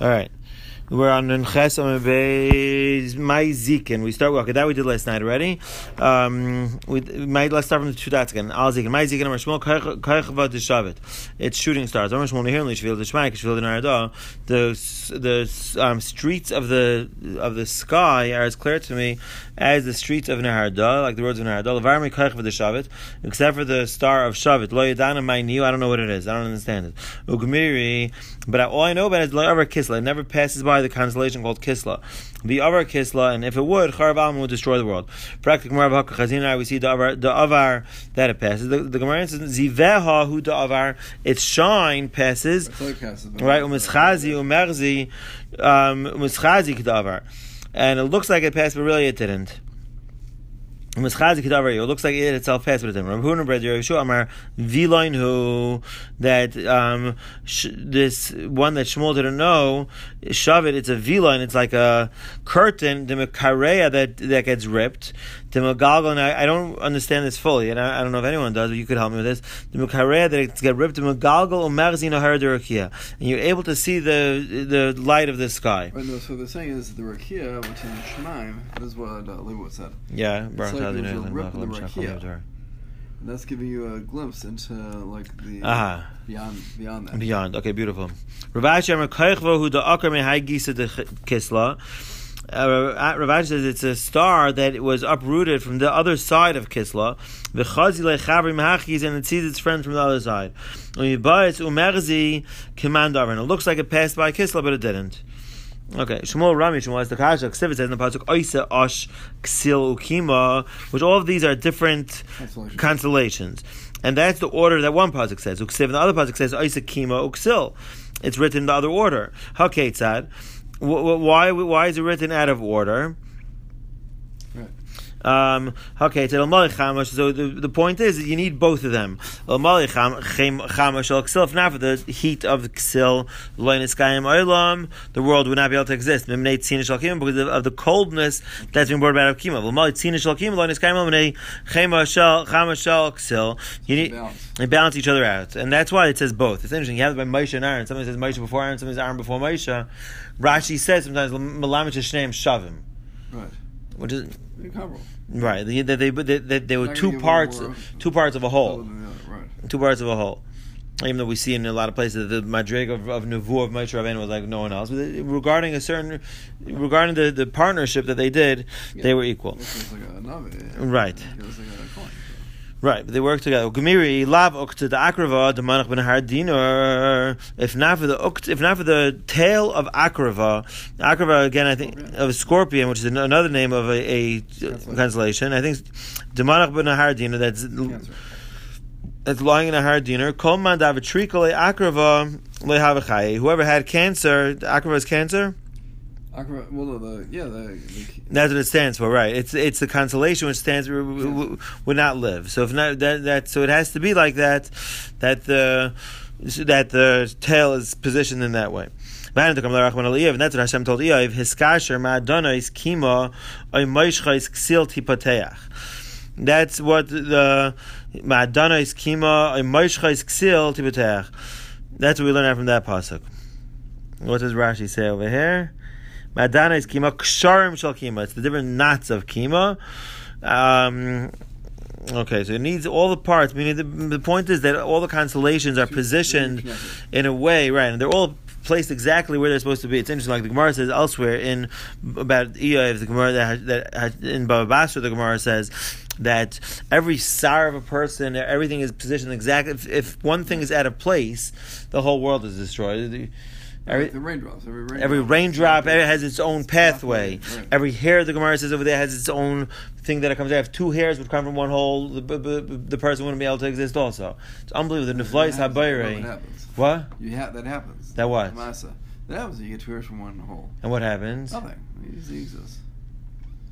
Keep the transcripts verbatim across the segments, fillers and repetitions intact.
All right. We're on Nunches Amabez My Zikin. We start okay. That we did last night already. Um, we might let's start from the two dots again. Al Zikin, My Zikin, Amar Shmuel Kaychava Deshavet. It's shooting stars. Amar Shmuel Nehir Lishvil Deshmai Kishvil Denarada. The the um, streets of the of the sky are as clear to me as the streets of Neharda, like the roads of Neharda. Levarmi Kaychava Deshavet, except for the star of Shavet. Lo Yadana My Niu. I don't know what it is. I don't understand it. Ugmiri, but all I know about it is Lo Avar Kisla. It never passes by the constellation called Kisla. The Avar Kisla, and if it would, Charav Alma would destroy the world. Practically, Gemara Chazina, we see the Avar, the Avar that it passes. The, the Gemara says Ziveha hu the Avar, its shine passes. Right, Umischazi Umerzi Umischazi Kedavar, and it looks like it passed, but really it didn't. It looks like it itself passed with it. That um, sh- this one that Shmuel didn't know, Shavit, it's a vilain, it's like a curtain, the mekareya that that gets ripped. The megalgal, and I, I don't understand this fully, and I, I don't know if anyone does, but you could help me with this. The mekareya that it gets ripped, the megalgal umerzino haradurakia, and you're able to see the the light of the sky. Right, no, so what they're saying is the rakia, which in Shemaim, that is what uh, Leibowitz said. Yeah, it's like there's a rip in the rakia. And that's giving you a glimpse into like the uh-huh. beyond beyond that. Beyond, okay, beautiful. Ravash Amar Kaychva hu da akar mehai gisa de Kisla. Ravash says it's a star that was uprooted from the other side of Kisla. V'chazi lechavri mehachis, and it sees its friends from the other side. Umibayis umerzi kimandavar, and it looks like it passed by Kisla, but it didn't. Okay, Shmuel Rami Shmuel has the kasha. Ksivit says in the pasuk Oisa Osh Ksil Ukima, which all of these are different constellations. constellations, and that's the order that one pasuk says. Uksiv, and the other pasuk says Oisa Kima Uksil. It's written in the other order. Haketzad. Why? Why is it written out of order? Um, okay, so the, the point is that you need both of them. If not for the heat of the Ksil, the world would not be able to exist because of the coldness that's being brought about of Kima. You need they balance each other out, and that's why it says both. It's interesting. You have it by Moshe and Aaron. Somebody says Moshe before Aaron, somebody says Aaron before Moshe. Rashi says sometimes Malamich Shneim Shavim. Right. Which is right. They, they, they, they, they, they were two parts, two parts of a whole. Right. Two parts of a whole. Even though we see in a lot of places the madrig of, of Nevuah of Moshe Rabbeinu was like no one else. But regarding a certain, regarding the, the partnership that they did, yeah, they were equal. Like a navi, right. Right, but they work together. Gemiri lav ukta the akrava the manach ben hardiner. If not for the ukt, if not for the tail of akrava, akrava again, I think of a scorpion, which is another name of a, a constellation. I think the manach ben hardiner. That's that's lying in a hardiner. Kol man davitrikole akrava lehavachai. Whoever had cancer, the akrava is cancer. Well, the, yeah, the, the, that's what it stands for, right? It's it's the constellation which stands for would, would not live. So if not that, that so it has to be like that, that the that the tail is positioned in that way. And that's what Hashem told Eiv. Hiskasher ma'adonos kima oy moishchais ksil tipateach. That's what the ma'adonos kima oy moishchais ksil tipateach. That's what we learn out from that pasuk. What does Rashi say over here? Madana is kima, ksharim shal kima. It's the different knots of kima. Um, okay, so it needs all the parts. Meaning the, the point is that all the constellations are positioned in a way, right? And they're all placed exactly where they're supposed to be. It's interesting, like the Gemara says elsewhere in about Eiv, the Gemara that, that in Baba Basra, the Gemara says that every sar of a person, everything is positioned exactly. If, if one thing is out of place, the whole world is destroyed. Every, the raindrops. Every raindrop, every raindrop has its own pathway. Right. Every hair, the Gemara says over there, has its own thing that it comes out. If two hairs would come from one hole, the, the, the person wouldn't be able to exist also. It's unbelievable. The Neflais HaBayre. What? You ha- that happens. That what? Masa. That happens. You get two hairs from one hole. And what happens? Nothing. It exists.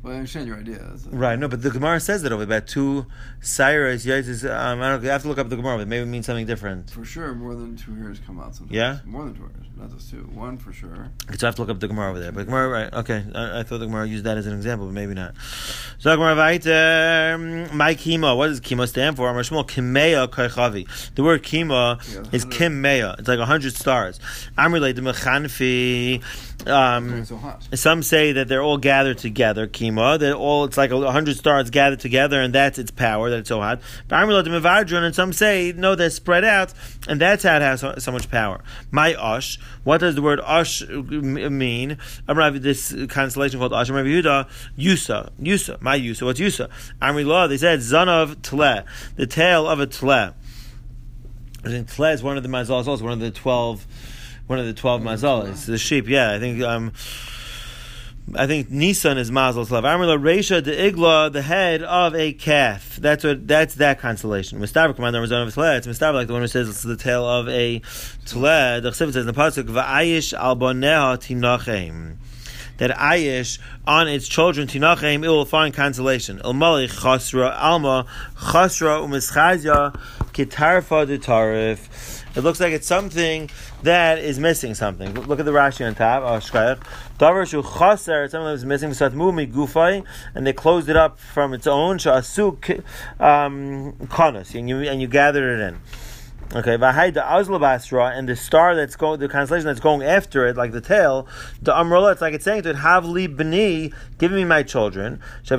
Well, I understand your idea. Right, no, but the Gemara says that over about two Cyrus, um, I don't know, you have to look up the Gemara, but maybe it means something different. For sure, more than two hairs come out sometimes. Yeah? More than two hairs, not just two. One for sure. Okay, so I have to look up the Gemara over there. But Gemara, right, okay, I, I thought the Gemara used that as an example, but maybe not. So Gemara weiter, my kima, what does kima stand for? Amrashmol, kimeya kaichavi. The word kima yeah, is kimeya. It's like a hundred stars. I'm related to mechanfi. Um, so hot. Some say that they're all gathered together, kima. That all it's like a hundred stars gathered together, and that's its power that it's so hot. But I'm related to mevadron, and some say no, they're spread out, and that's how it has so, so much power. My ush. What does the word ush mean? I'm this constellation called ush. Rabbi Yehuda, Yusa, Yusa, my Yusa. What's Yusa? Amri law. They said zanav tleh, the tail of a tleh. I think tleh is one of the mazalas, also one of the twelve. One of the twelve mazalas, the sheep. Yeah, I think um, I think Nisan is mazal slav. Amrla Reisha de Igla, the head of a calf. That's what. That's that constellation. Mistaver commander was of tleh. It's mistaver like the one who says it's the tail of a tleh. The Chesed says in the pasuk va'ayish al boneha tinachem. That Ayish on its children tinachem it will find consolation. El Malik chasra alma chasra umischazia kitarfa de tarif. It looks like it's something that is missing something. Look at the Rashi on top. Oh, shkayach. Davar shu chaser. Something that was missing. V'satmu migufay, and they closed it up from its own. Shasu kanas, and you and you gathered it in. Okay, v'hayda azlabasra, and the star that's going, the constellation that's going after it, like the tail, the umrullah, it's like it's saying to it, Havli b'ni, give me my children. When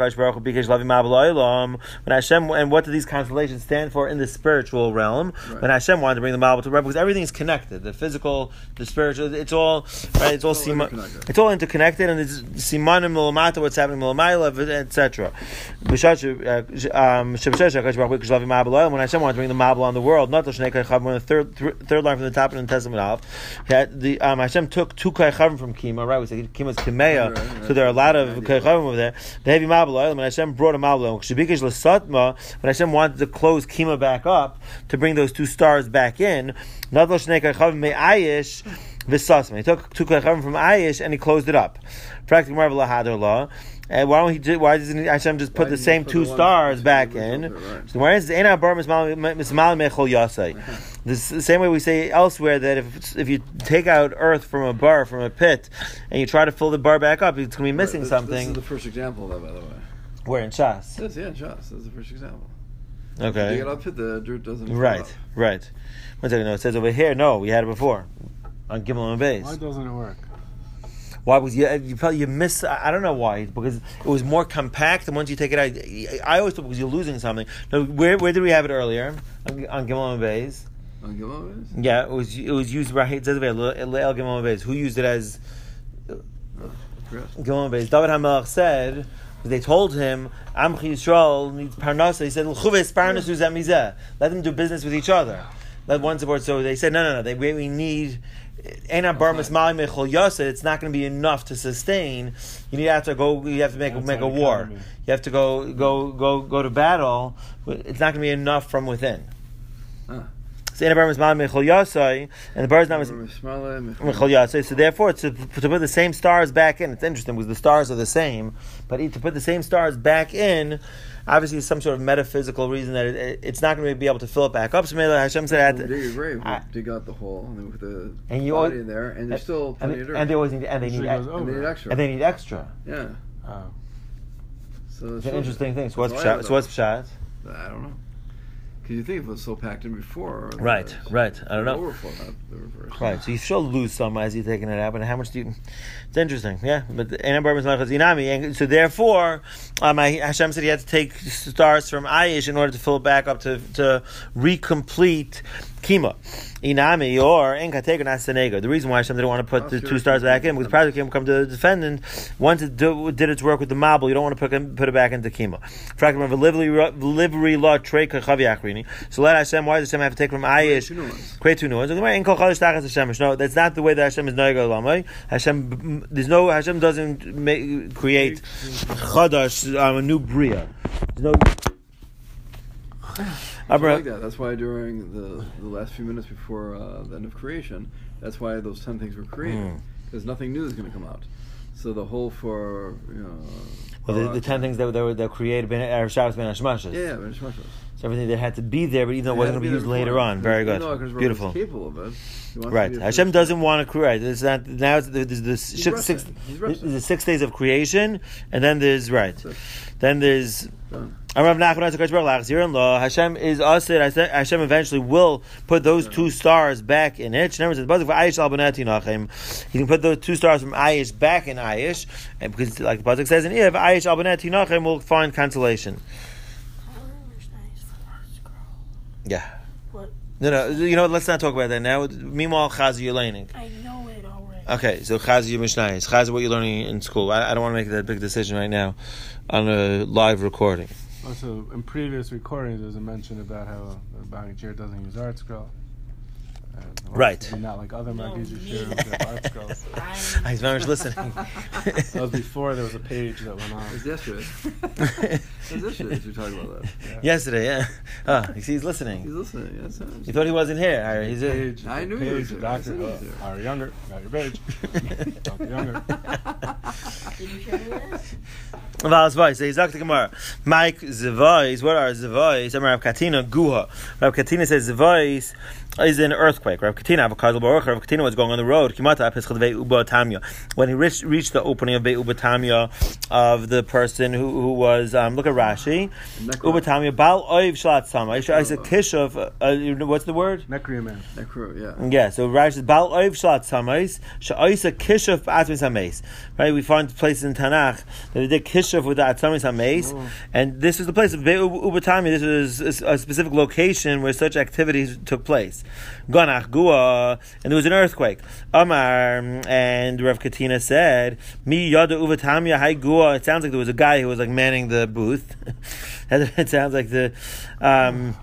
Hashem, and what do these constellations stand for in the spiritual realm? Right. When Hashem wanted to bring the Mabul to Rebbe, because everything is connected, the physical, the spiritual, it's all right. It's all, it's all, sima, interconnected. It's all interconnected, and it's simanim milamata, what's happening milamayla, et cetera. When Hashem wanted to bring the Mabul on the world. Not the third third line from the top in the Testament of the um, Hashem took two kaychavim from Kima, right? We say Kima is Kimeya, right, right, so there are a lot of kaychavim over there. The heavy mabul, when Hashem brought a mabul, when Hashem wanted to close Kima back up to bring those two stars back in, not the shnei kaychavim me ayish v'sasma. He took two kaychavim from ayish and he closed it up. Practically marvel hadar law. And why don't he? Do, why doesn't Hashem just put why the same two stars back in? It, right. So why is the same way we say elsewhere that if if you take out earth from a bar, from a pit, and you try to fill the bar back up, it's going to be missing right, this, something. This is the first example of that, by the way. Where in Shas? Yes, yeah, in Shas. That's the first example. Okay. If you get up pit, the dirt doesn't. Right, up. right. One second. No, it says over here. No, we had it before on Gimel and Beis. Why doesn't it work? Why? Because you you probably you miss. I don't know why. Because it was more compact, and once you take it out, I always thought because you're losing something. No, where where did we have it earlier on, on Gimel and Beis? On Gimel and Beis? Yeah, it was it was used right. It says over here, Le'el Gimel and Beis. Who used it as Gimel and Beis? David HaMelech said. They told him, Amchi Yisrael needs parnasa. He said, L'chuves parnasu zamizeh. Let them do business with each other. Let one support. So they said, no, no, no. They we need. It's not going to be enough to sustain. You need to have to go. You have to make That's make a war. Economy. You have to go go go go to battle. It's not going to be enough from within. Huh. So and the bird is not Mechol Yasei. So therefore, to, to put the same stars back in, it's interesting because the stars are the same, but to put the same stars back in, obviously, some sort of metaphysical reason that it, it, it's not going to be able to fill it back up. So maybe Hashem said, well, "Dig a grave, I, dig out the hole, and then with the and you body always, in there, and there's still plenty and, of dirt, and they always need, and they need, ex- and they need extra, and they need extra. Yeah. Oh. So it's an interesting thing. So what's pshat? So what's pshat? I don't know. Because you think if it was so packed in before, right, the, right. I don't know. Overflow, not the reverse. Right. So you still lose some as you're taking it out, but how much do you? It's interesting, yeah. But and so therefore, um, Hashem said he had to take stars from Ayish in order to fill it back up to to recomplete Kima. Inami or Enkatega Nasanega. The reason why Hashem didn't want to put the two stars back in because probably came come to the defendant. Once it do, did its work with the Mabul, you don't want to put, put it back into Kima. Livery law trade kachavi. So let Hashem. Why does Hashem have to take from Ayish? Create two new ones. No, that's not the way that Hashem is Noiga Lamai. Hashem, there's no Hashem doesn't make, create chadash, um, a new bria. There's no. I like that. That's why during the, the last few minutes before uh, the end of creation, that's why those ten things were created. Because mm. nothing new is going to come out. So the whole for you know. Well, the, the ten things that were that created Ben Erev Shabbos Ben Hashmashos. Yeah, Ben Hashmashos. So everything that had to be there, but even though it, it wasn't going to be used later on. Very good, beautiful. Capable of it. Right, Hashem doesn't want to create. It's not now. It's, there's the six, six, there's the six days of creation, and then there's right. Then there's. Hashem is us. Hashem eventually will put those two stars back in it. He can put those two stars from Aish back in Aish, and because, like the pasuk says in Eiv, Aish al Bnei Tinachem will find consolation. Yeah. What? No, no. You know what? Let's not talk about that now. Meanwhile, Chaz, you're learning. I know it already. Okay, so Chaz, your Mishnayos. Chaz, what you're learning in school. I, I don't want to make that big decision right now on a live recording. Also, in previous recordings, there's a mention about how the Bang Chair doesn't use art scroll. Right. Not like other Magid Yeshua who have art scrolls. He's very much listening. That was before there was a page that went on. It was yesterday. It was yesterday we talked about that. Yeah. Yesterday, yeah. Oh, you see, he's listening. He's listening, yes. You thought he wasn't here. He's a page. I knew page, he was here. Doctor, uh, are younger. Got your page. Doctor Younger. Did you show me that? So he's Doctor Gemara. Mike Zevais, what are Zevais? I'm Rav Katina Guha. Rav Katina says Zevais is an earthquake. Rav Katina, Rav Katina was going on the road. When he reached, reached the opening of Beit Ubatamya of the person who, who was, um, look at Rashi. Ubatamya, Bal Oiv Shalat Sama. It's a Kishuv, uh, what's the word? Nekriyaman. Nekru, yeah. Yeah, so Rashi says, Bal Oiv Shalat Samais, Sha'isa Kishuv Atmis HaMeis. Right, we find places in Tanakh that they did Kishuv with the Atzamis HaMeis, oh. And this is the place of Beit Ubatamya. This was a specific location where such activities took place. Ganach Gua, and there was an earthquake. Amar, and Rav Katina said, Mi Yada Ubatamya Hai Gua. It sounds like there was a guy who was like manning the booth. It sounds like the. Um,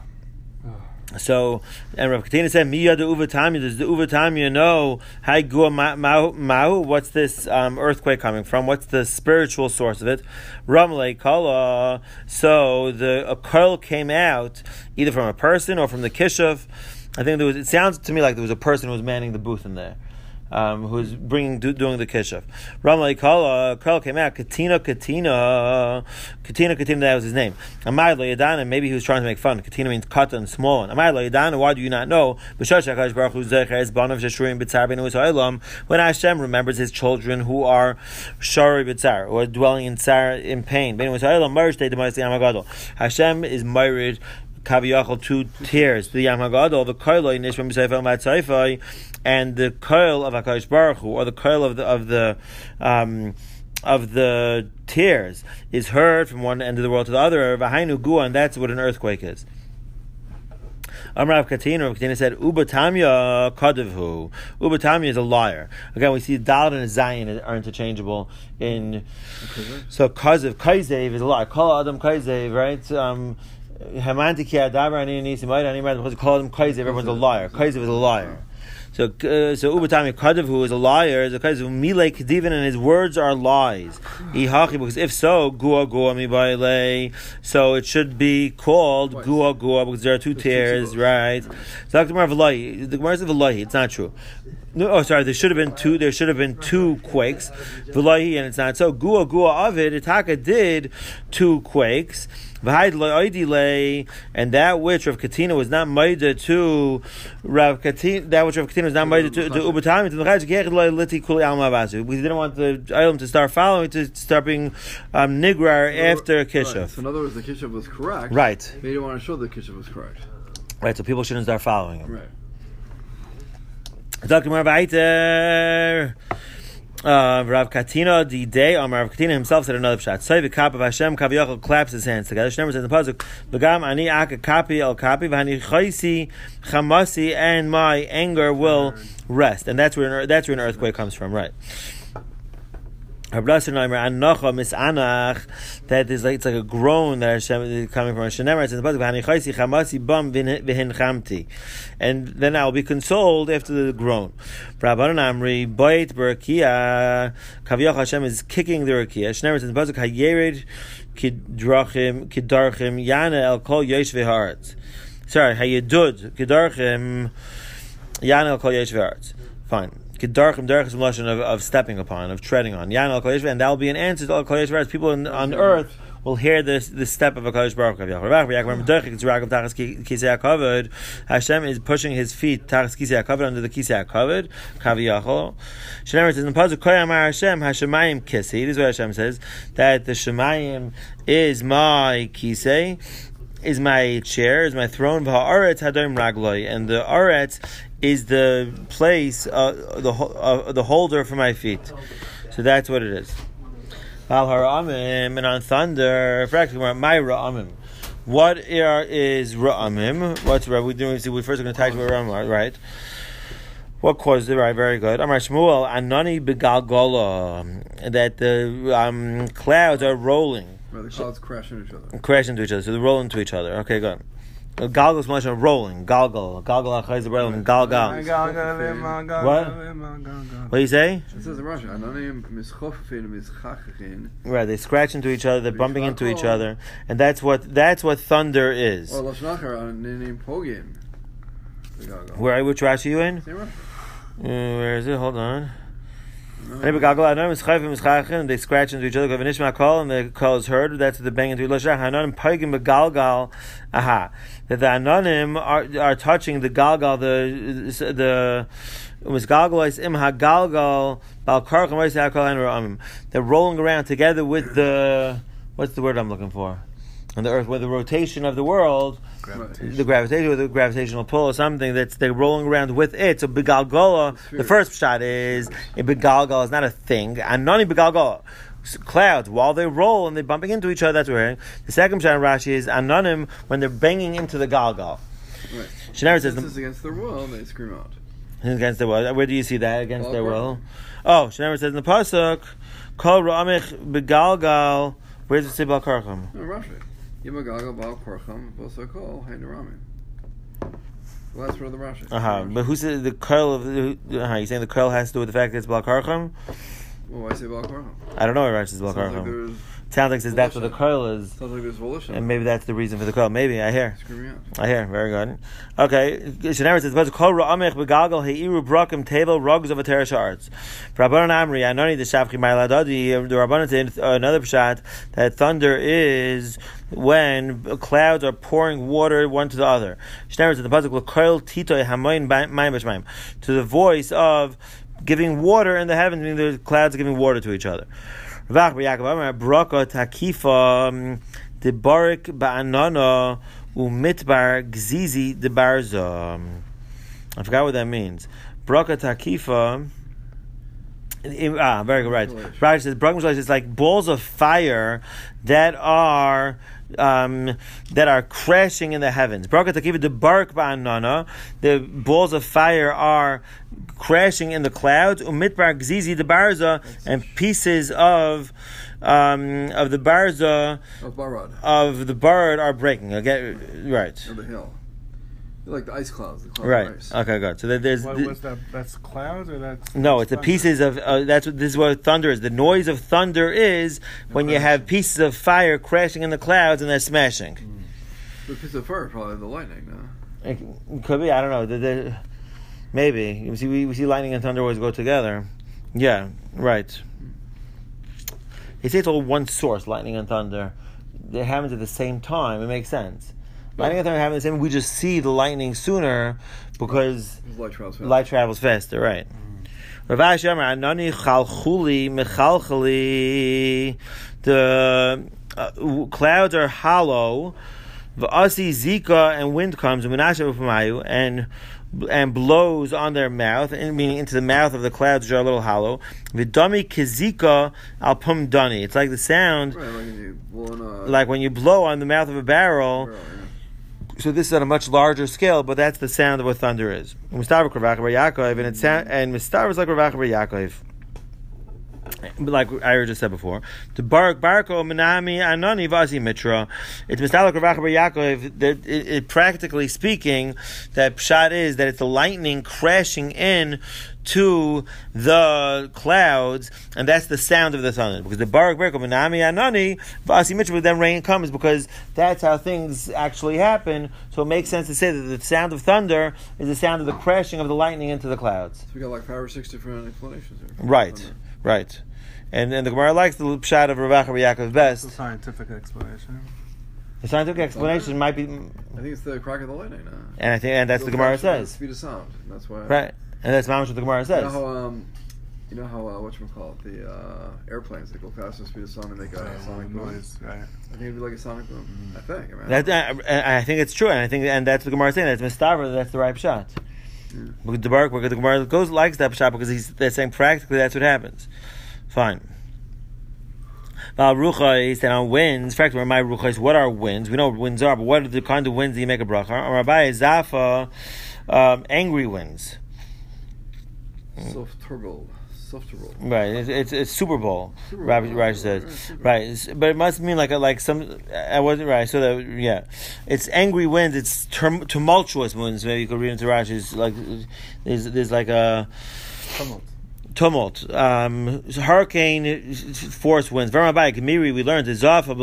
So, and Rav Katina said, Mi Yada Uvatamya, does the Uvatamya know, Hai Gua Mahu, what's this um, earthquake coming from? What's the spiritual source of it? Ramle Kala, so the a curl came out, either from a person or from the Kishuv. I think there was, it sounds to me like there was a person who was manning the booth in there. Um, who was bringing do, doing the kishuv. Ramla Kala, Karl came out. Katina, Katina, Katina, Katina. That was his name. Amar lo Yadana. Maybe he was trying to make fun. Katina means cut and small. Amar lo Yadana. Why do you not know? B'shash Baruch Hu zecher banav sheshurim b'tzar b'nu ha'olam. When Hashem remembers His children who are shari b'tzar, or dwelling in tsar in pain. B'nu ha'olam marish te demayis yam hagadol. Hashem is married. Kaviyachol, two tears, the Yam Hagadol, the Koiloi Nishma B'Seifai Matzaifai, and the Koil of Hakadosh Baruch Hu, or the Koil of the of the um, of the tears, is heard from one end of the world to the other. V'Hainu Gua, and that's what an earthquake is. Amrav Katina, Rav Katina said, Ubatamya Kadivhu. Ubatamya is a liar. Again, we see Dalet and Zayin are interchangeable in. So Kaziv, Kaizev is a liar. Kol Adam Kaizev, right? Um, Everyone's a liar. Kaizev is a liar. So, uh, so Ubatami Kadav, who is a liar, is a Kaizev Mile Kedivin, and his words are lies. Because if so, Gua Gua Mibaile, so it should be called Gua Gua because there are two tears, right? So the Gemara V'lahi, the Gemara says V'lahi, it's not true. No, oh, sorry. There should have been two. There should have been two quakes, V'lahi, and it's not so. Gua Gua Avid, Itaka did two quakes. And that which Rav Katina was not maida to Rav Katina, that which Rav Katina was not maida to Ubatami, we didn't want the item to start following, to start being um, nigrar after Kishuv. Right. So in other words, the Kishuv was correct. Right. They didn't want to show the Kishuv was correct. Right. So people shouldn't start following him. Right. Doctor Marvaiter. Uh, Rav Katina, the day, um, Rav Katina himself said another pshat. Say the kap of Hashem, Kaviyachol claps his hands together. Shneimar says in the pasuk, "V'gam ani aka kapi el kapi, v'hani chaysi chamasi, and my anger will rest." And that's where that's where an earthquake comes from, right? That is like it's like a groan that Hashem is coming from Hashem. It says in the pasuk, and then I will be consoled after the groan. Hashem is kicking the rakia. Hashem says in the pasuk, Hayered kidrachim kidarchim yana el kol yeshvei haaretz. Sorry, Hayedud kidarchim yana el kol yeshvei haaretz. Fine. Kedarchim derech is a of, of stepping upon, of treading on. Yan al Kol Yeshua, and that will be an answer to all Kol Yeshua. People in, on earth will hear this the step of a Kadosh Baruch Hu. Hashem is pushing his feet tachas kisei hakavod under the kisei hakavod. Kaviyachol. Shneimar says in the pasuk Koyamar Hashem Hashemayim Kisi. This is what Hashem says, that the Shemayim is my kisei, is my chair, is my throne. V'ha'aretz hadoim ragloi, and the aretz is the place, uh, the uh, the holder for my feet. So that's what it is. Al hara'amim, and on thunder, practically my ra'amim. What are, is ra'amim? What's ra? We doing? We first are going to talk about ra'amim, right? What caused it? Right, very good. Amar Shmuel, anani begalgola, that the um, clouds are rolling. Right, the clouds crash into each other. Crash into each other, so they roll into each other. Okay, good. Galgal is much rolling. Galgal. Galgal achayz rolling. Galgal. What? What do you say? It says in Russian, right, they scratch into each other, they're bumping into each other, and that's what that's what thunder is. Where, which Rashi are you in? Uh, where is it? Hold on. They scratch into each other, and the call is heard. That's the bang into each other. Aha. That the Anonim are, are touching the Galgal, the the was Galgalais im hagalgal balkarcham. They're rolling around together with the, what's the word I'm looking for? On the earth, with the rotation of the world, gravitation. the gravitation, with the gravitational pull or something, that's they're rolling around with it. So begalgola, the first shot is a begalgola is not a thing. And nani begalgola, clouds while they roll and they're bumping into each other. That's what we're hearing. The second shot in Rashi is anonim when they're banging into the galgal. Right. Shneimar says this is against their will, and they scream out. Against their will. Where do you see that? Against Bal their will. Oh, Shneimar says in the pasuk, kol ra'amich begalgal. Where does it say balkarcham? No, Rashi. Yimagagal Baal Korcham, Bosakol, Hainarami. The last word of the Rashi. Uh huh. But who said the curl of the? Uh huh. You saying the curl has to do with the fact that it's Baal Karcham? Well, why say Baal Korcham? I don't know why Rashi says Baal Karcham. Like sounds like says that's what the curl is. Sounds like there's volition. And maybe that's the reason for the curl. Maybe I hear. Screaming out. I hear. Very good. Okay. Shneimar says, "But kol ra'amech begalgal heiru brakim tevel rugs of a teresh arts." Rabbanan Amri, Anoni the Shavchi Mailadadi. The Rabbanan said another pshat that thunder is when clouds are pouring water one to the other. Shneimar says the pasuk l'koil titoy hamoin mayim b'shmayim, to the voice of giving water in the heavens, meaning the clouds are giving water to each other. Vach b'Yaakov Amar braka takifa debarik ba'anana umitbar gzizi debarza. I forgot what that means. Braka takifa. Ah, very good. Right. Rashi says braka is like balls of fire that are um, that are crashing in the heavens. Braka takifa debarik ba'anana. The balls of fire are crashing in the clouds, umitbar gzizi the barza, and pieces of um, of the barza of, barad. of the bird are breaking. Okay, right. Of the hill, they're like the ice clouds. The clouds right. Of ice. Okay, good. So that there's what, th- what's that? That's clouds, or that's no. that's It's the pieces of uh, that's what this is what thunder is. The noise of thunder is when okay. you have pieces of fire crashing in the clouds and they're smashing. Mm. The piece of fire, probably the lightning. No, it could be. I don't know. The, the, Maybe you see, we, we see lightning and thunder always go together. Yeah, right. They say it's all one source, lightning and thunder. It happens at the same time. It makes sense. Yeah. Lightning and thunder happen at the same time. We just see the lightning sooner because light travels faster. Light travels faster, right? Rav Ashi Amar Anani Chalchuli Mechalchali. The uh, clouds are hollow. V'asi Zika, and wind comes and and blows on their mouth, meaning into the mouth of the clouds, which are a little hollow. V'dami kizika al pum dani. It's like the sound, right, like, when you blow on a, like when you blow on the mouth of a barrel. barrel yeah. So this is on a much larger scale, but that's the sound of what thunder is. Mistav Ravach Bar Yaakov, and it sound and Mistav is like Ravach Bar Yaakov. Like I just said before, the Barak Barako Menami Anani Vasi Mitra. It's Mistalak Ravach Bar Yaakov. That it, it, practically speaking, that pshat is that it's the lightning crashing in to the clouds, and that's the sound of the thunder. Because the barak berko minami anani v'asi mitchell, then rain comes, because that's how things actually happen. So it makes sense to say that the sound of thunder is the sound of the crashing of the lightning into the clouds. So we got like five or six different explanations here. Right, thunder. right. And and the Gemara likes the pshat of Rav Acha Yaakov best. It's a scientific explanation. The scientific explanation might be. I think it's the crack of the lightning. Uh, and I think, and that's the Gemara says. The speed of sound. That's why. Right, and that's what the Gemara says. You know how um, you know how uh, what you call it, the uh, airplanes they go faster than the speed of sound and make a yeah, sonic boom. Noise, right. I think it'd be like a sonic boom. Mm-hmm. I think. I, mean, that, uh, I think it's true, and I think, and that's the Gemara saying. That's Mistaver. That's the right pshat. Yeah. Because the Barak, because the Gemara goes likes that pshat because he's they're saying practically that's what happens. Fine. Val Rucha is that on winds. In fact, where my Rucha is, what are winds? We know what winds are, but what are the kind of winds that you make a bracha? Rabbi is Zafa, um, angry winds. Soft turbo. Soft turbo. Right, it's, it's it's Super Bowl. Super Rabbi Bowl. Rashi says, Yeah, right, it's, but it must mean like a, like some. I wasn't right. So that yeah, it's angry winds. It's tum- tumultuous winds. Maybe you could read into Rashi. It's like there's there's like a Tumult. Tumult, um, hurricane force winds. Very much Gemiri, we learned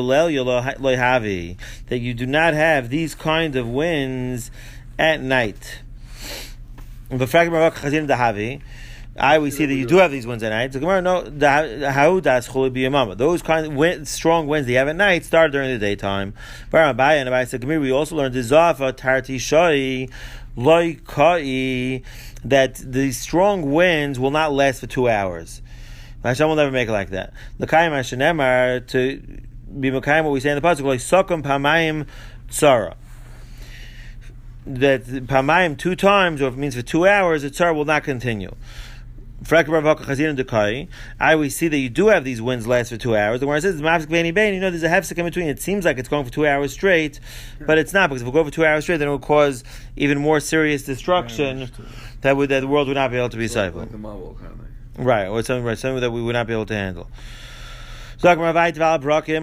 that you do not have these kind of winds at night. I we see that you do have these winds at night. So Gemara, no, those kind of wind, strong winds that you have at night start during the daytime. Very much, and I said Gemiri, we also learned Zafa Tarti Shai Loikai, that the strong winds will not last for two hours. Hashem will never make it like that. L'kayim Hashanemar, to be Mekayim, what we say in the pasuk, like Sokum Pamayim Tzara. That Pamayim two times, or if it means for two hours, the Tzara will not continue. I we see that you do have these winds last for two hours. The Gemara says, you know, there's a hefsek in between. It seems like it's going for two hours straight, but it's not, because if we go for two hours straight, then it will cause even more serious destruction that would that the world would not be able to be cycled. Like the marble kind of thing. Right, or something, right, something that we would not be able to handle. My brakim,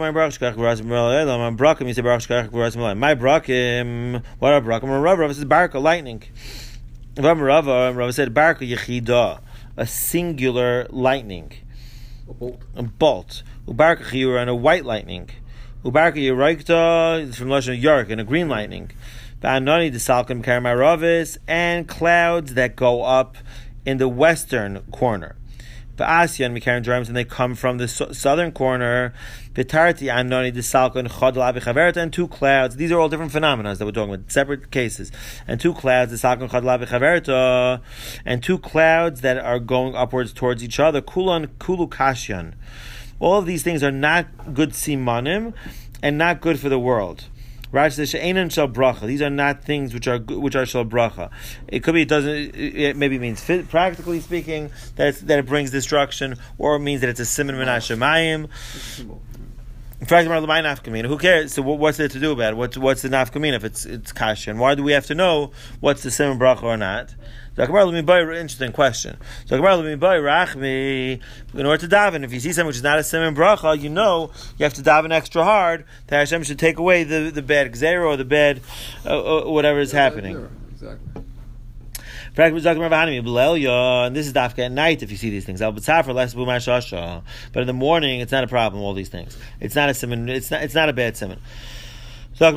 my brakim, what are brakim? Rav Rav says barka, lightning. Rav Rav said barka yechida, a singular lightning, a bolt, a bolt. Ubarka chiyura, and a white lightning. Ubarka yiraikta is from Lashon Yark, and a green lightning. Va'anani desalkim karamaravis, and clouds that go up in the western corner. Va'asyan mikarim drums, and they come from the so- southern corner. V'tarti anoni desalkim chodal abichaverta, and two clouds. These are all different phenomena that we're talking about, separate cases. And two clouds, desalkim chodal abichaverta, and two clouds that are going upwards towards each other. Kulan kulu kashyan. All of these things are not good simanim and not good for the world. Rashi says she'enan shel bracha. These are not things which are which are shel bracha. It could be it doesn't. It maybe means practically speaking that it's, that it brings destruction, or it means that it's a siman min hashemayim. In fact, who cares? So what's there to do about it? What's what's the nafkamina if it's it's kasha? And why do we have to know what's the siman bracha or not? So interesting question. So in order to daven, if you see something which is not a siman bracha, you know you have to daven extra hard that Hashem should take away the, the bad gzera or the bad uh, uh, whatever is happening. Exactly. And this is dafka at night if you see these things. But in the morning, it's not a problem. All these things, it's not a siman. It's not. It's not a bad siman. These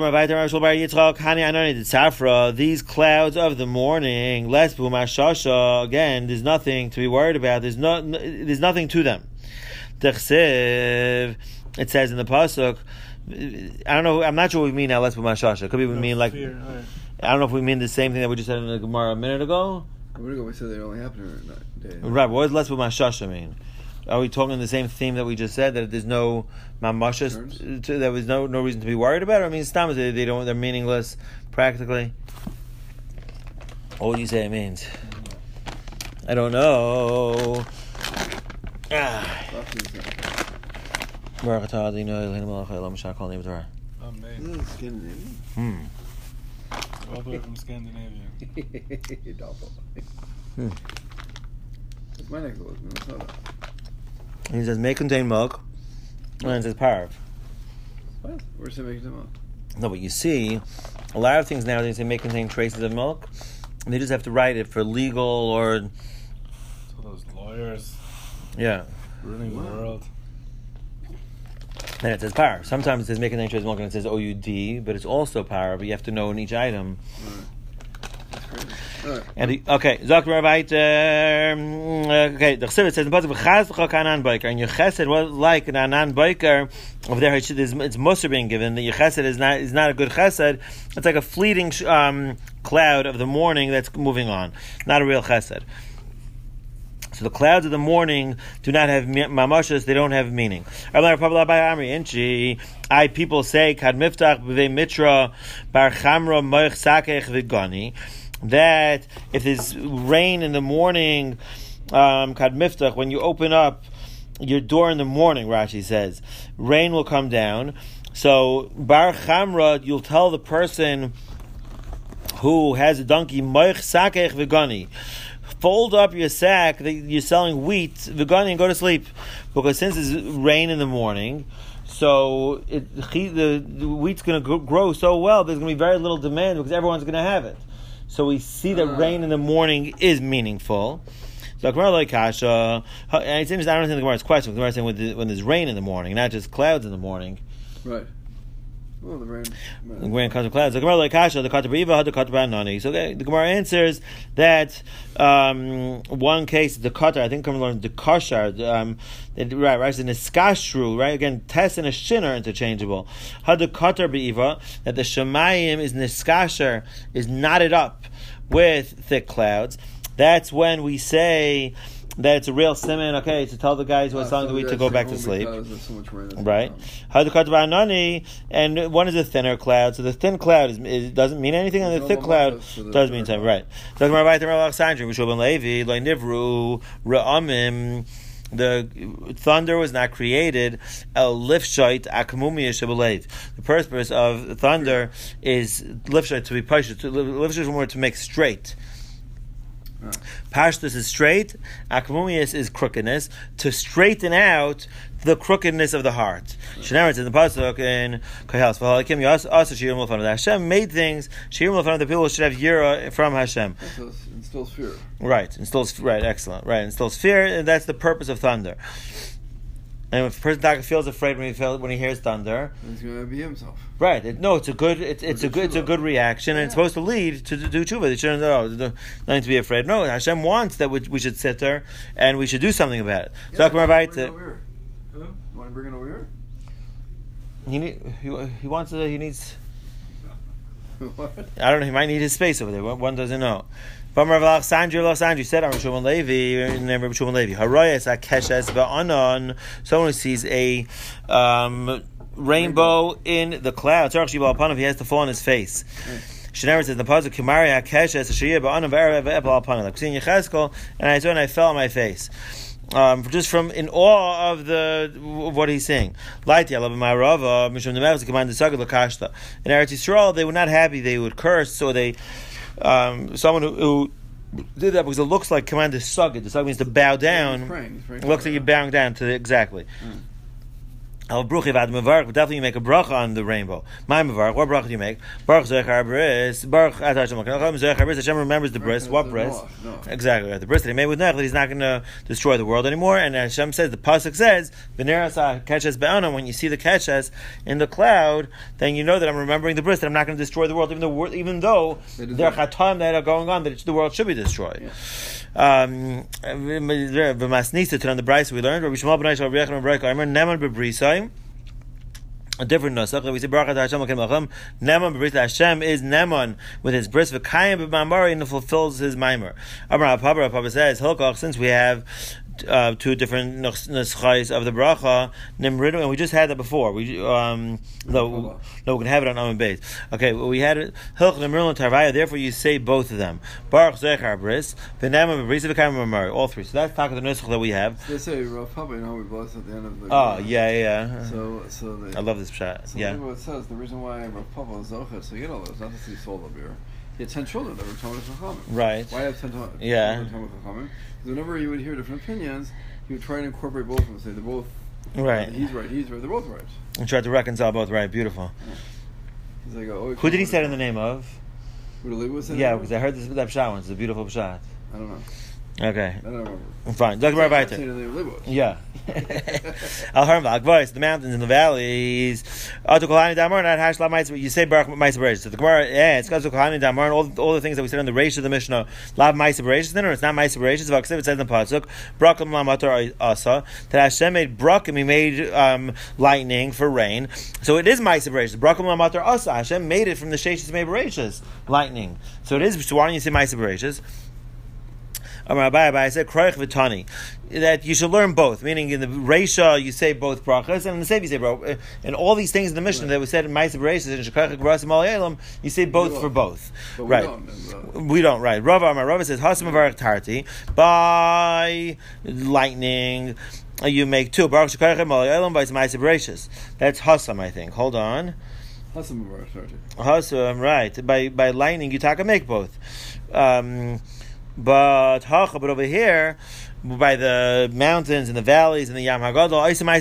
clouds of the morning, again, there's nothing to be worried about. There's no, there's nothing to them. It says in the pasuk. I don't know. I'm not sure what we mean now. Let's put mashasha. Could be we mean like. I don't know if we mean the same thing that we just said in the Gemara a minute ago. A minute ago we said they only happen in that day. Right. What does let's put mashasha mean? Are we talking the same theme that we just said, that there's no mamashas, there was no no reason to be worried about it? I mean, stam they, they don't, they're meaningless practically. What would you say it means? I don't know. Ah. Hmm. All the way from Scandinavia. hmm. It's my neck of Minnesota. He says may contain milk, and it says parv. What? Where's it may contain milk? No, but you see, a lot of things nowadays they may contain traces of milk, and they just have to write it for legal or those lawyers Yeah. ruining the world. Then it says power. Sometimes it says make an interest and it says O U D, but it's also power, but you have to know in each item. Right. That's crazy. All right. And the, okay, Zok Rabite, okay, the Chassid says in the pasuk v'chaz Anan Biker, and your Chesed was like an Anan Biker. Over there, it's, it's Musar being given. The your Chesed is not is not a good Chesed. It's like a fleeting um, cloud of the morning that's moving on, not a real Chesed. So the clouds of the morning do not have mamashas; they don't have meaning. I people say kad miftach b'vei mitra bar chamra moich sakech v'gani, that if there's rain in the morning, um, kad miftach, when you open up your door in the morning, Rashi says, rain will come down. So bar chamra, you'll tell the person who has a donkey moich sakech v'gani, fold up your sack that you're selling wheat, v'gani, and go to sleep, because since it's rain in the morning, so it, the, the wheat's going to grow so well, there's going to be very little demand because everyone's going to have it. So we see that uh, rain in the morning is meaningful. So Gemara like Kasha, and it seems I don't think the Gemara's question. The Gemara's saying when, the, when there's rain in the morning, not just clouds in the morning. Right. Well, the rain. The rain comes from clouds. The Gemara like Kasha, the Katabriva had the Katabanani. So okay, the Gemara answers that um, one case, the Katar, I think Gemara learned the Kashar, um, it, right, right, in a Skashru, right? Again, Tess and a Shin are interchangeable. Had the Katar Beiva, that the Shemayim is Niskasher, is knotted up with thick clouds. That's when we say that it's a real simon, okay, to tell the guys who are selling the wheat to go back to sleep. So right. And one is a thinner cloud, so the thin cloud is, is, doesn't mean anything, and the thick cloud does mean something. Right. The thunder was not created. The purpose of thunder is lifshait, to be pushed. Lifshait is more to make straight. Oh. Pashtus is straight, Akmumius is crookedness, to straighten out the crookedness of the heart. Shenamar says in the pasuk in Kahals, V'halakim also Shirim L'fanav. Hashem made things Shirim L'fanav. The people should have yira from Hashem. So instills fear. Right, instills right, excellent. Right, instills fear, and that's the purpose of thunder. And if a person feels afraid when he feels, when he hears thunder, he's going to be himself. Right. It, no, it's a good. It's, it's a good. It's a good reaction, and yeah. It's supposed to lead to, to do tshuva. They shouldn't. Oh, nothing to be afraid. No, Hashem wants that we, we should sit there and we should do something about it. Yeah, so right. You want to bring it over here? He need, he he wants to. He needs. What? I don't know. He might need his space over there. One doesn't know. Someone who sees a um, rainbow in the clouds, he has to fall on his face. Shenamar says in the pasuk, "Kimari hakeshes shiyah ba'anav erev e'epal alpanav." Like seeing Yechezkel, and I saw and I fell on my face. Um, just from in awe of the of what he's saying. In Eretz Yisrael, they were not happy; they would curse. So they, um, someone who, who did that because it looks like command to sugid. The sugid means to bow down. He's praying. He's praying. It looks like you're bowing down to the, exactly. Mm. Al bruchi vad mevarch, but definitely you make a bracha on the rainbow. My mevarch, what bracha do you make? Baruch zechar bris, baruch atar Hashem zechar bris. Hashem remembers the bris. What bris? No, no. Exactly, the bris that he made with Noach, that he's not going to destroy the world anymore. And Hashem says, the pasuk says, "V'nerasa keshes be'ana." When you see the keshes in the cloud, then you know that I'm remembering the bris, that I'm not going to destroy the world, even though even though there are chatam that are going on, that the world should be destroyed. Yeah. Um, V'masnisa to on the brayso we learned. Rabbi Shmuel ben Aishal Rabbi Yechon ben Bereika, I remember Neman b'brisai. A different nusach that we say Baruch Atah Hashem L'Kem L'Chem. Neman b'bris Hashem is Neman with his bris v'kayim b'mamari and fulfills his mimer. Amar Papa Papa says Hilkoch, since we have uh, two different nuschais of the bracha Nimridu, and we just had that before. We um no no we can have it on Amen Beis. Okay, well, we had it Hilch Nimridu and Tarvaya. Therefore, you say both of them. Baruch Zechar bris v'Neman b'bris v'kayim b'mamari. All three. So that's talk of the nuschach that we have. They say Rav Papa, you know, we bless at the end of the. Oh yeah yeah. So so they, I love this shot. So yeah. What it says, the reason why Rav Papa is Zochah, so you get all those, not to see sold up here. He had ten children that were Talmud Chachamim. Right. Why have ten Talmud yeah. Chachamim? Because whenever you would hear different opinions, he would try to incorporate both of them. Say they're both right. Uh, he's right. He's right. They're both right. And try to reconcile both. Right. Beautiful. Yeah. He's like, oh, who did he say it in the name of? Who did was Yeah, because I heard this that pshat once. It's a beautiful pshat. I don't know. Okay. I don't remember. Fine. Doctor Bar Yeah. Al Harmvak voice, the mountains and the valleys. You say Baruch Ma'aser Bereishis. So the Gemara, yeah, it's because of Kohani Damar and all, all the things that we said in the Reish of the Mishnah. Lav Ma'aser Bereishis, then, or it's not Ma'aser Bereishis. It says in the Pasuk, Brakim Lamatar Asa, that Hashem made Brakim, He made um, lightning for rain. So it is Ma'aser Bereishis. Brakim Lamatar Asa. Hashem made it from the Sheshis Mei Bereishis, lightning. So it is. So why don't you say Ma'aser Bereishis? I said kroich v'tani, that you should learn both. Meaning in the Reisha you say both brachas, and in the Sefer you say both. And all these things in the Mishnah right. that we said in Ma'aser Bereishis and Shekach Gerasim Al Elam, you say both for both. But right? We don't, uh, we don't. Right? Rav Amar Rav says Hasam Avarach Tarti by lightning. You make two. Baruch Shekach Al Elam by Ma'aser Bereishis. That's Hasam, I think. Hold on. Hasam Avarach Tarti. Hasam, right? By by lightning you taka make both. Um, But but over here, by the mountains and the valleys and the Yam Hagadol,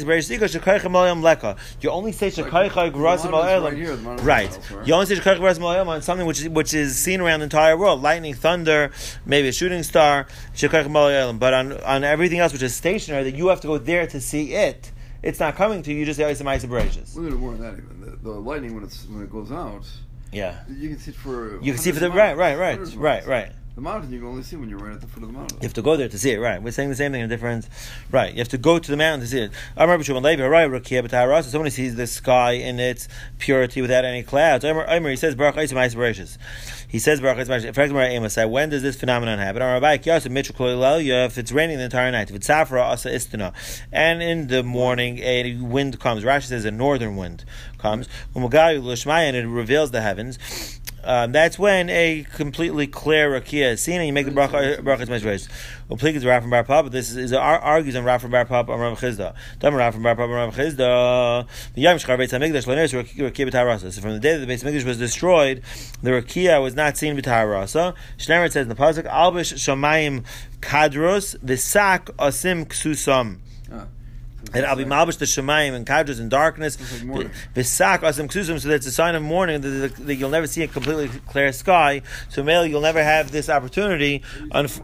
you only say Shekaycha Gerasim Al Elam. Right. You only say Shekaycha Gerasim Al Elam on something which is, which is seen around the entire world. Lightning, thunder, maybe a shooting star, Shekaycha Al Elam. But on, on everything else which is stationary, that you have to go there to see it, it's not coming to you, you just say Oisa Ma'aser Bereishis. A little more than that even. The, the lightning, when, it's, when it goes out, yeah, you can see it for... You can see for the... Right, right, right, right, right. The mountain you can only see when you're right at the foot of the mountain. You have to go there to see it, right? We're saying the same thing in different, right? You have to go to the mountain to see it. I remember someone sees the sky in its purity without any clouds. He says, Baruch Oisa Ma'aser Bereishis. He says, Baruch Oisa Ma'aser Bereishis. When does this phenomenon happen? If it's raining the entire night, if it's Safra Asa Istana, and in the morning a wind comes. Rashi says a northern wind comes, and it reveals the heavens. Um, that's when a completely clear rakia is seen, and you make the bracha bracha Ma'aser Bereishis. Uplikas Rafam Bar Papa. This is, is argues on Rafam Bar Papa on Rav Chizda. Dam Rafam Bar Papa on Rav Chizda. The Yom Shchar Beis Hamikdash Lener Rakia B'Tarasa. So from the day that the Beis Hamikdash was destroyed, the rakia was not seen B'Tarasa. Shneimar says in the pasuk, Albish Shamayim Kadros V'Sak Asim Ksusam. And I'll be malbish the shemayim and kadros in darkness. V'sak asim ksusum, so that's a sign of mourning that, that you'll never see a completely clear sky. So male, you'll never have this opportunity. Unf-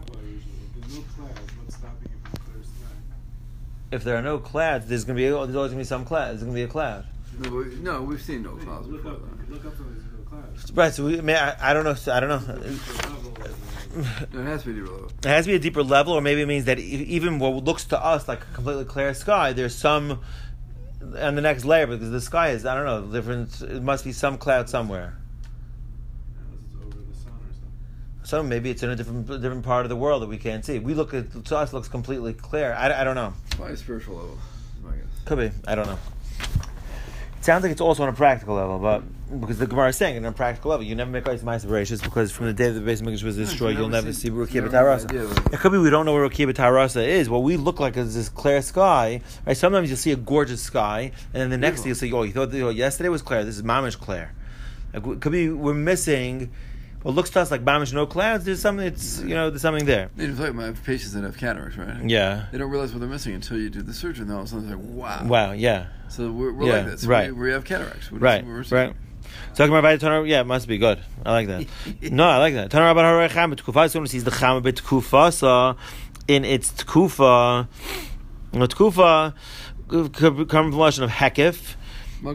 if there are no clouds, there's going to be there's always going to be some clouds. There's going to be a cloud. No, we, no we've seen no clouds before that. Look up some clouds. Right. So we, I, I don't know. I don't know. No, it has to be a deeper level. It has to be a deeper level, or maybe it means that even what looks to us like a completely clear sky, there's some on the next layer, because the sky is, I don't know, different. It must be some cloud somewhere. Unless it's over the sun or something. So maybe it's in a different different part of the world that we can't see. We look at, to us, looks completely clear. I, I don't know. By a spiritual level, I guess. Could be. I don't know. It sounds like it's also on a practical level, but because the Gemara is saying on a practical level, you never make Oisa Ma'aser Bereishis, because from the day that the Beis Hamikdash was destroyed, you'll never see Rakia B'Tarasa. It could be we don't know where Rakia B'Tarasa is. What we look like is this clear sky. Right? Sometimes you'll see a gorgeous sky, and then the next day you'll say, "Oh, you thought oh, yesterday was clear. This is mamish clear." Like, it could be we're missing. What looks to us like mamish no clouds. There's something. It's you know there's something there. They talk about patients that have cataracts, right? Yeah. They don't realize what they're missing until you do the surgery, and all of a sudden they're like, "Wow." Wow. Yeah. So we're, we're yeah, like this. Right. We, we have cataracts. We're right. Just, right. Talking about Tanur, yeah, it must be good. I like that. No, I like that. Tanur about Harei Chama T'kufa. Someone sees the Chama B'Tkufa in its T'kufa. T'kufa comes from the lashon of Hekif. At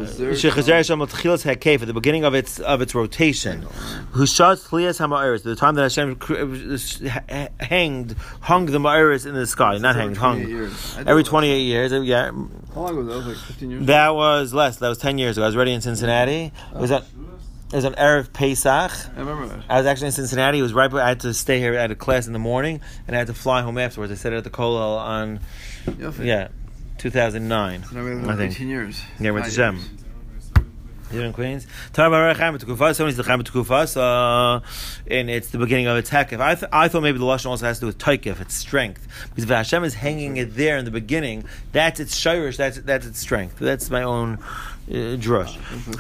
the beginning of its of its rotation, who shot Tlias Hama'iris, the time that Hashem hanged, hung the Ma'iris in the sky, not hanged, hung every twenty-eight years. Yeah. How long ago? That was like fifteen years. That was less. That was ten years ago. I was already in Cincinnati. It was at it was on Erev Pesach. I remember that. I was actually in Cincinnati. It was right. I had to stay here. I had a class in the morning, and I had to fly home afterwards. I stayed at the Kollel on yeah. two thousand nine. So now we have I think. eighteen years. Yeah, with Hashem. Here in Queens. Somebody's the Chama T'kufa, and it's the beginning of its hekif. I, th- I thought maybe the lashon also has to do with taikif, its strength, because if Hashem is hanging it there in the beginning, that's its shirish, that's that's its strength. That's my own drush.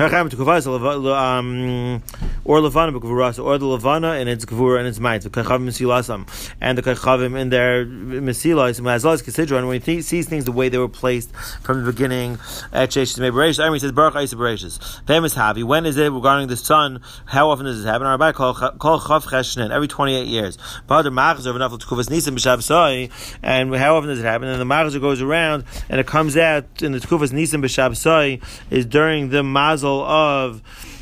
Um, or Levana b'Gvurasa, or the Levana and its Gvura and its might. Kachavim Mesilasam, and the Kachavim in their Mesilas, as well as Kisidron, when he th- sees things the way they were placed from the beginning at Sheshis Mebereshis. He says, Baruch Isa Bereshis. Famous Havi. When is it regarding the sun? How often does this happen? Rabbi call Chav Cheshnin every twenty-eight years. Bahadur Machzer v'Nafel Tkuvas Nisan b'Shabsai. And how often does it happen? And the Machzer goes around and it comes out in the Tkuvas Nisan b'Shabsai is during the mazel of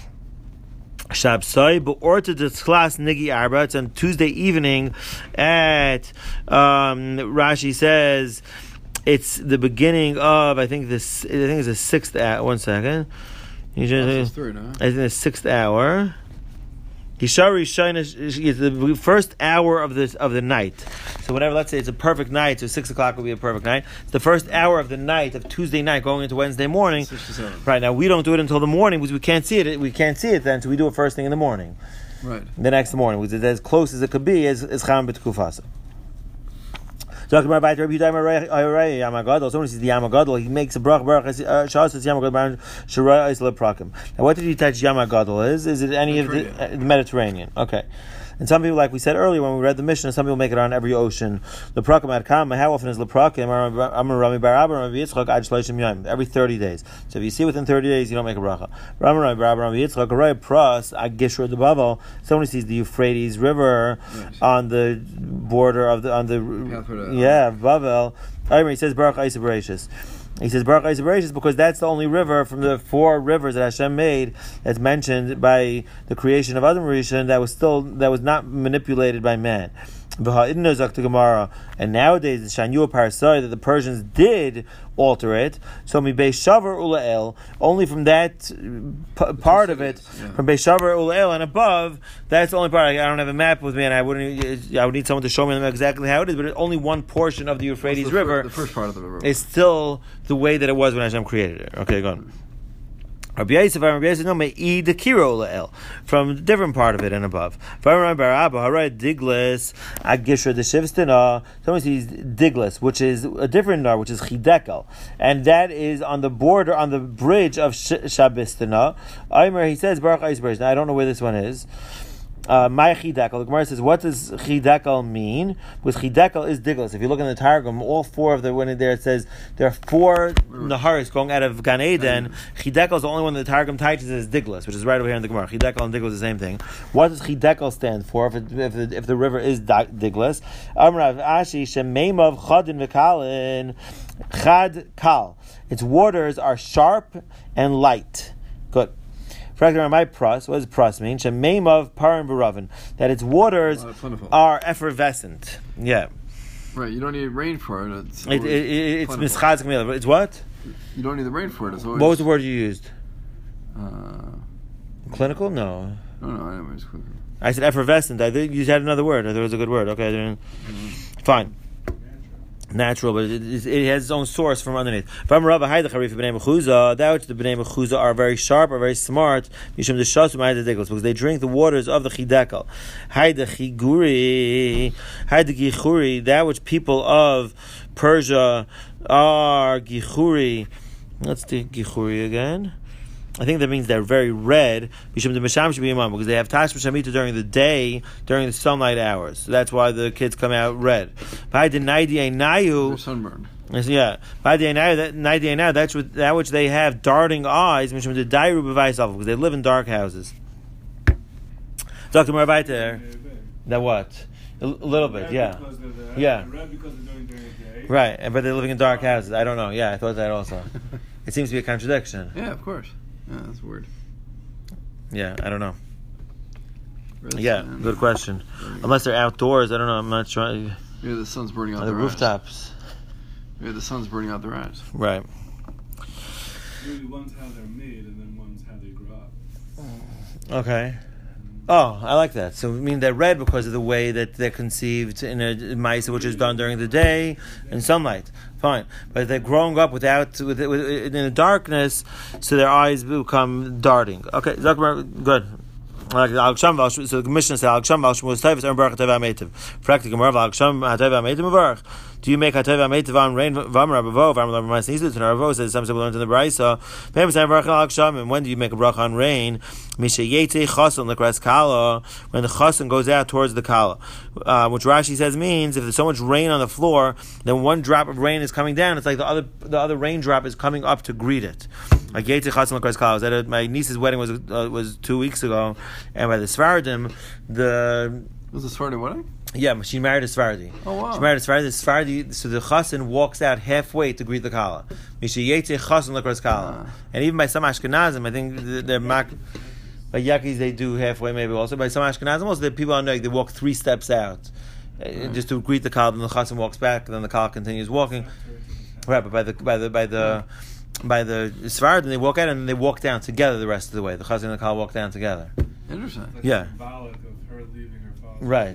Shabsai, but orta de class nigi arba. It's on Tuesday evening at um, Rashi says it's the beginning of I think this I think it's the sixth hour. One second, That's three, no? I think the sixth hour. Hishari Shina is the first hour of this of the night. So whenever, let's say it's a perfect night, so six o'clock will be a perfect night. It's the first hour of the night of Tuesday night going into Wednesday morning. Right now we don't do it until the morning because we can't see it. We can't see it then, so we do it first thing in the morning. Right. The next morning, which is as close as it could be, is is Cham B'Tkufasa. Talking about Rabbi Yehuda Yamagadol. Someone sees the Yamagadol, he makes a brach brach. Shas says Yamagadol Shirah Isla Prakim. Now, what did he touch Yamagadol is? Is it any of the, uh, the Mediterranean? Okay. And some people, like we said earlier when we read the Mishnah, some people make it on every ocean. The Prakim ad Kama, how often is the Prakim? Amar Rami Bar Abba, Rami Yitzchak, Ad Shloshim Yom. Every thirty days. So if you see within thirty days, you don't make a bracha. Rami Rami Bar Abba, Rami Yitzchak, Aray Pras, Ad Gishur de Bavel. Someone sees the Euphrates River yes. on the border of the, on the, yeah, Bavel. He says, Baruch Isa Bereshis. He says Baruch Isa Bereshis because that's the only river from the four rivers that Hashem made that's mentioned by the creation of Adam Rishon that was still that was not manipulated by man. And nowadays, the Shanyua Parasai that the Persians did alter it. So mi Beishavar Ulael, only from that p- part of it, yeah. from Beishavar Ulael and above, that's the only part. I don't have a map with me, and I wouldn't. I would need someone to show me exactly how it is. But only one portion of the Euphrates the River, fir- the first part of the river, is still the way that it was when Hashem created it. Okay, go on. Rabbi Yosef, Rabbi Yosef, no, may eat the kiro lael from a different part of it and above. Someone sees diglis, which is a different nar, which is chidekel, and that is on the border, on the bridge of Shabistana. Aimer, he says Baruch Eisberg. Now I don't know where this one is. Uh, my chidekel. The Gemara says, what does chidekel mean? Because chidekel is diglis. If you look in the Targum, all four of the when there it says there are four naharis going out of Gan Eden. Chidekel is the only one that the Targum teaches as diglis, which is right over here in the Gemara. Chidekel and diglis is the same thing. What does chidekel stand for? If it, if, the, if the river is diglis, Amrav Ashi shemeimav chadin v'kalin chad kal. Its waters are sharp and light. Good. My pras, what does pras mean? Shemeimav parim b'ravin, that its waters uh, are effervescent. Yeah. Right, you don't need rain for it. It's it, it, it, it's mischaz kamila. It's what? You don't need the rain for it. It's always. What was the word you used? Uh, clinical? No. No, no, I know it's clinical. I said effervescent. I think you had another word. I thought it was a good word. Okay, mm-hmm. Fine. Natural, but it, it, it has its own source from underneath. That which the Bnei Mechuza are very sharp, are very smart, because they drink the waters of the Chidekel. That which people of Persia are Gichuri. Let's do Gichuri again. I think that means they're very red because they have Tashma Shamita during the day, during the sunlight hours. So that's why the kids come out red. They're sunburned. Yeah. That's what, that which they have darting eyes because they live in dark houses. Doctor Marvaiter. That what? A little bit, yeah. Yeah. Red because they're doing during the day. Right, but they're living in dark houses. I don't know. Yeah, I thought that also. It seems to be a contradiction. Yeah, of course. Yeah, that's weird. Yeah, I don't know. Red yeah, sun. Good question. Unless they're outdoors, I don't know. I'm not sure. Maybe the sun's burning out the their rooftops. eyes. Maybe the sun's burning out their eyes. Right. Maybe one's how they're made, and then one's how they grow up. Okay. Oh, I like that. So, I mean, they're red because of the way that they're conceived in a maisa, which is done during the day in sunlight. Fine, but they're growing up without, with, with in the darkness, so their eyes become darting. Okay, good. Like Al Ksham, so the Mishnah says Al Ksham Al Shmuel Tayv Aaron Baruch Hatayv Ametiv. Practically, Al Ksham Hatayv Ametiv Baruch. Do you make Hatayv Ametiv on rain? Vamar Abavo Vamar Lavar Ma'aseh. And Ravo says some people learned in the Brayso. Maybe say Baruch Al Ksham. And when do you make a bracha on rain? Misha Yete Chason Lekras Kala. When the Chason goes out towards the Kala, uh, which Rashi says means if there's so much rain on the floor, then one drop of rain is coming down. It's like the other the other raindrop is coming up to greet it. Like Yete Chason Lekras Kala. Was at my niece's wedding was uh, was two weeks ago, and by the Sfaradim, the was the Sephardi wedding? Yeah, she married a Sephardi. Oh wow! She married a Sephardi. The Sephardi, so the Chassan walks out halfway to greet the Kala. Misha Yetze Chassan Lekras Kala. Ah. And even by some Ashkenazim, I think they're mak. By Yakis they do halfway maybe also. By some Ashkenazim also, the people are knowing they walk three steps out mm. just to greet the Kala. Then the Chassan walks back. And then the Kala continues walking. Right, but by the by the by the by the Sephardi, they walk out and they walk down together the rest of the way. The Chassan and the Kala walk down together. Interesting. Like yeah. Of her leaving her father. Right.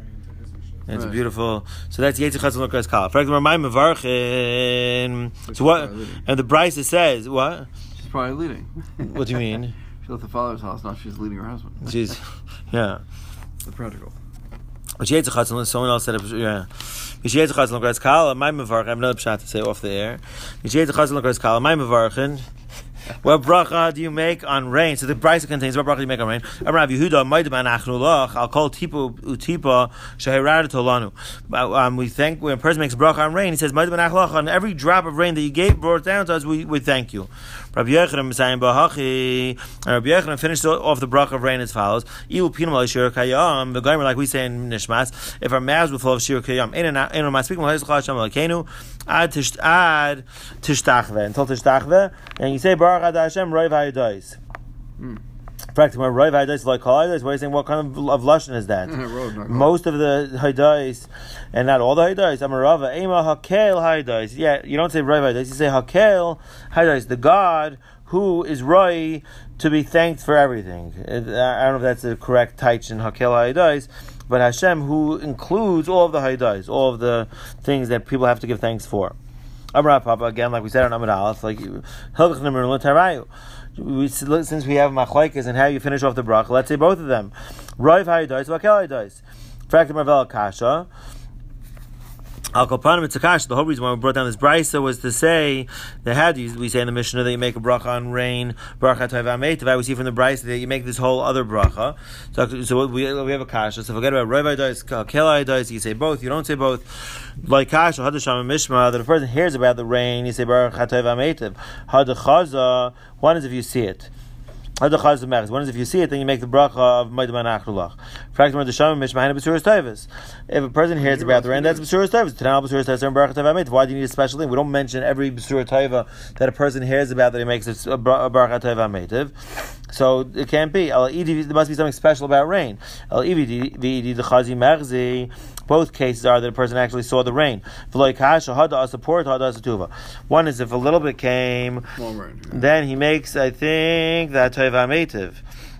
And it's right. a beautiful. So that's Yetzi Chatzon Lekras Kala. For example, my Mevarchin. So what? And the Brisa says what? She's probably leading. What do you mean? She left the father's house. Now she's leading her husband. She's, yeah. The practical. But Yetzi Chatzon. Someone else said it. Yeah. Yetzi Chatzon Lekras Kala. My Mevarchin. I have another pshat to say off the air. Yetzi Chatzon Lekras Kala. My Mevarchin. What bracha do you make on rain? So the brisa contains what bracha do you make on rain? Rav Yehuda, Maidaban Achnulach, I'll call Tipa Utipa Shahirad Tolanu. Um, we thank when a person makes a bracha on rain, he says Maidaban Achnulach, on every drop of rain that you gave, brought down to us, we, we thank you. Rabbi Yochanan saying Bahachi, and Rabbi Yochanan finished off the bracha of rain as follows: Ilu Pinam Al Shir Kayam. The guy like we say in Nishmas, if our mouths were full of Shir Kayam, in and out, in and out, speaking of Hashem Lakenu, ad tish ad tishtachve until tishtachve, and you say Baruch Ad Hashem Roiv Hayadais. Practically, Roiv Hayadais like Hayadais. What are you saying? What kind of, of lashon is that? Road, Most of the Hayadais, and not all the Hayadais. Amarava Ema Hakel Hayadais. Yeah, you don't say Roiv Hayadais. You say Hakel Hayadais. The God who is Roi to be thanked for everything. I don't know if that's the correct taich in Hakel Hayadais. But Hashem, who includes all of the Haydais, all of the things that people have to give thanks for. Amar Papa, again, like we said on Amud Aleph, like we, since we have machlokes and how you finish off the bracha, let's say both of them. Roiv Haydais, Vakel Haydais. Fractum Marvel Kasha. Al Kolpanim Tzakash. The whole reason why we brought down this brisa was to say that how do you, we say in the Mishnah that you make a bracha on rain, bracha Tov Ametiv. We see from the brisa that you make this whole other bracha. So, so we we have a kasha. So forget about Roiv Haydais, Kel Haydais. You say both. You don't say both. Like kasha Hadasham Mishma, that if a person hears about the rain, you say bracha Tov Ametiv. Hadachaza. One is if you see it. One is if you see it, then you make the bracha of Maidaban Achnulach. If a person hears about the rain, that's B'suras Tova. Why do you need a special thing? We don't mention every B'suras Tova that a person hears about that he makes a bracha Tova Ametiv. So it can't be. There must be something special about rain. Both cases are that a person actually saw the rain. One is if a little bit came, then he makes, I think, that Tova Ametiv.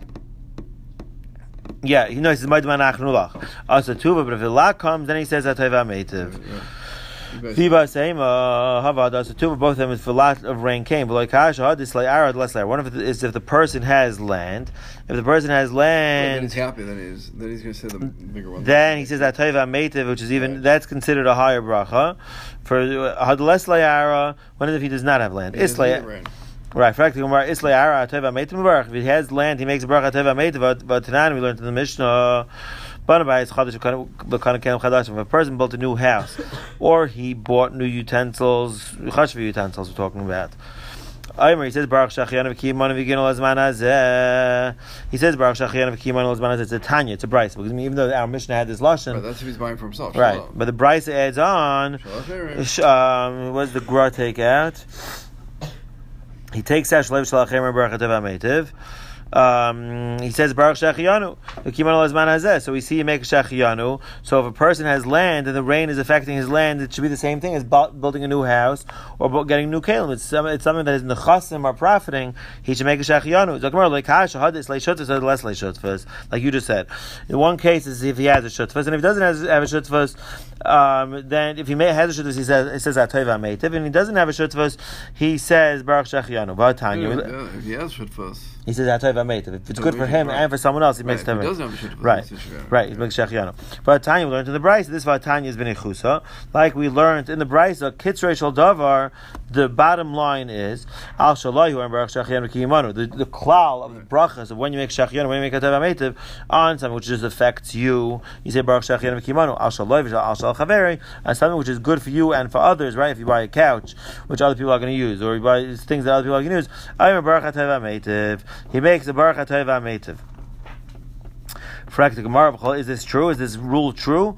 Yeah, he knows it's Maidaban Achnulach. Also Tuva, but if a lot comes, then he says that Tova Ametiv. Viva Seima Havada. So two of both of them is for a lot of rain came. But like Kasha, this like Arad less layer. One of it is if the person has land. If the person has land, then he's happy. Then he's then he's going to say the bigger one. Then he says that Tova Ametiv, which is even right. That's considered a higher bracha. For Had less layara. What if he does not have land? Islay. Right, practically, Islay Ara Tova Ametiv. If he has land, he makes a bracha Tova Ametiv. But Tanan we learned in the Mishnah. If a person built a new house, or he bought new utensils, chashva utensils we're talking about. He says Baruch Shachianu v'Kiyimanu v'Ginu Lazman Hazeh. He says Baruch Shachianu v'Kiyimanu Lazman Hazeh. It's a Tanya, it's a brisa. Because even though our Mishnah had this lashon, right, that's if he's buying for himself. Right, Shalom. but the brisa adds on. Um, what does the Gra take out? He takes out Shalev Shalachem Baruch Tova Ametiv. Um, he says Baruch Shachianu. So we see you make a Shachianu. So if a person has land and the rain is affecting his land, it should be the same thing as building a new house or getting new kalim. It's, it's something that is nechasim or profiting. He should make a Shachianu. Like you just said. In one case is if he has a shutfas, and if he doesn't have a shutfas, um, then if he may, has a shutfas, he says he says Atayva Meitiv, and he doesn't have a shutfas, he says Baruch Shachianu. Yeah, yeah, if he has shutfas. He says Hatayv HaMeitiv. If it's good for him and for someone else, he makes right. Hatayv HaMeitiv. Right, right. He makes Shechianu. But Tanya, we learned in the Brisa. This Vatanya is been Chusa. Like we learned in the Brisa, Kitzrei Shel Davar. The bottom line is Al Shalayhu and Baruch Shechianu Kiyimanu. The the klal of the brachas of when you make Shechianu, when you make Hatayv HaMeitiv on something which just affects you, you say Baruch Shechianu Kiyimanu. Al Shalayhu, Al Shal Chaveri, and something which is good for you and for others. Right? If you buy a couch, which other people are going to use, or you buy things that other people are going to use, I am Baruch Hatayv HaMeitiv. He makes a Baruch Hatayv HaMeitiv. Is this true? Is this rule true?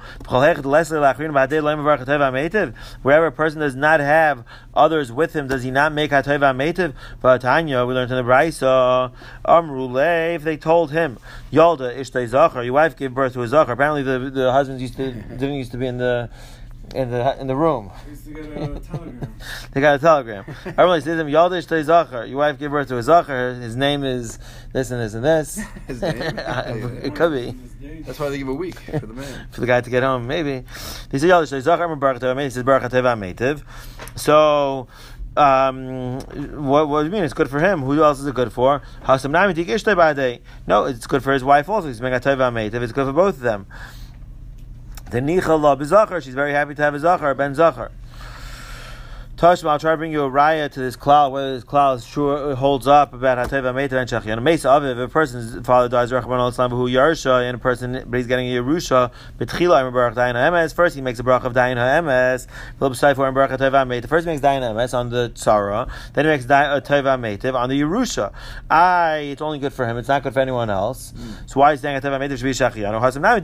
Wherever a person does not have others with him, does he not make Hatayv HaMeitiv? But Tanya, we learned in the Brisa, Amrule, if they told him, Yalda Ishtay Zachar, your wife gave birth to a Zachar. Apparently the, the husbands used to, didn't used to be in the in the in the room. They used to get a telegram. They got a telegram. Everyone says to him, Yalda Ishtay Zachar, your wife gave birth to a Zachar, his name is this and this and this. His name? It could be. That's why they give a week for the man. For the guy to get home, maybe. He said, Yalda Ishtay Zachar, Baruch Hatayv HaMeitiv. He says, Baruch Hatayv HaMeitiv. So, um, what, what do you mean? It's good for him. Who else is it good for? No, it's good for his wife also. He's making Hatayv HaMeitiv. It's good for both of them. The Nicha La B'Zachar, she's very happy to have a Zachar, Ben Zachar. Tashma, I'll try to bring you a raya to this klal, whether this klal is sure holds up about Hatayv HaMeitiv and Shechianu. Mesa Aviv, if a person's father dies, Rachmana litzlan who Yarsha, and a person, but he's getting a Yerusha, B'tchila, I'm Baruch Dayan HaEmes. First, he makes a bracha of Dayan HaEmes. Philip Seifor and Baruch Hatayv HaMeitiv. First, he makes Dayan HaEmes on the Tzara. Then he makes Hatayv HaMeitiv on the Yerusha. I, it's only good for him. It's not good for anyone else. Mm. So why is saying Hatayv HaMeitiv should be Shechianu?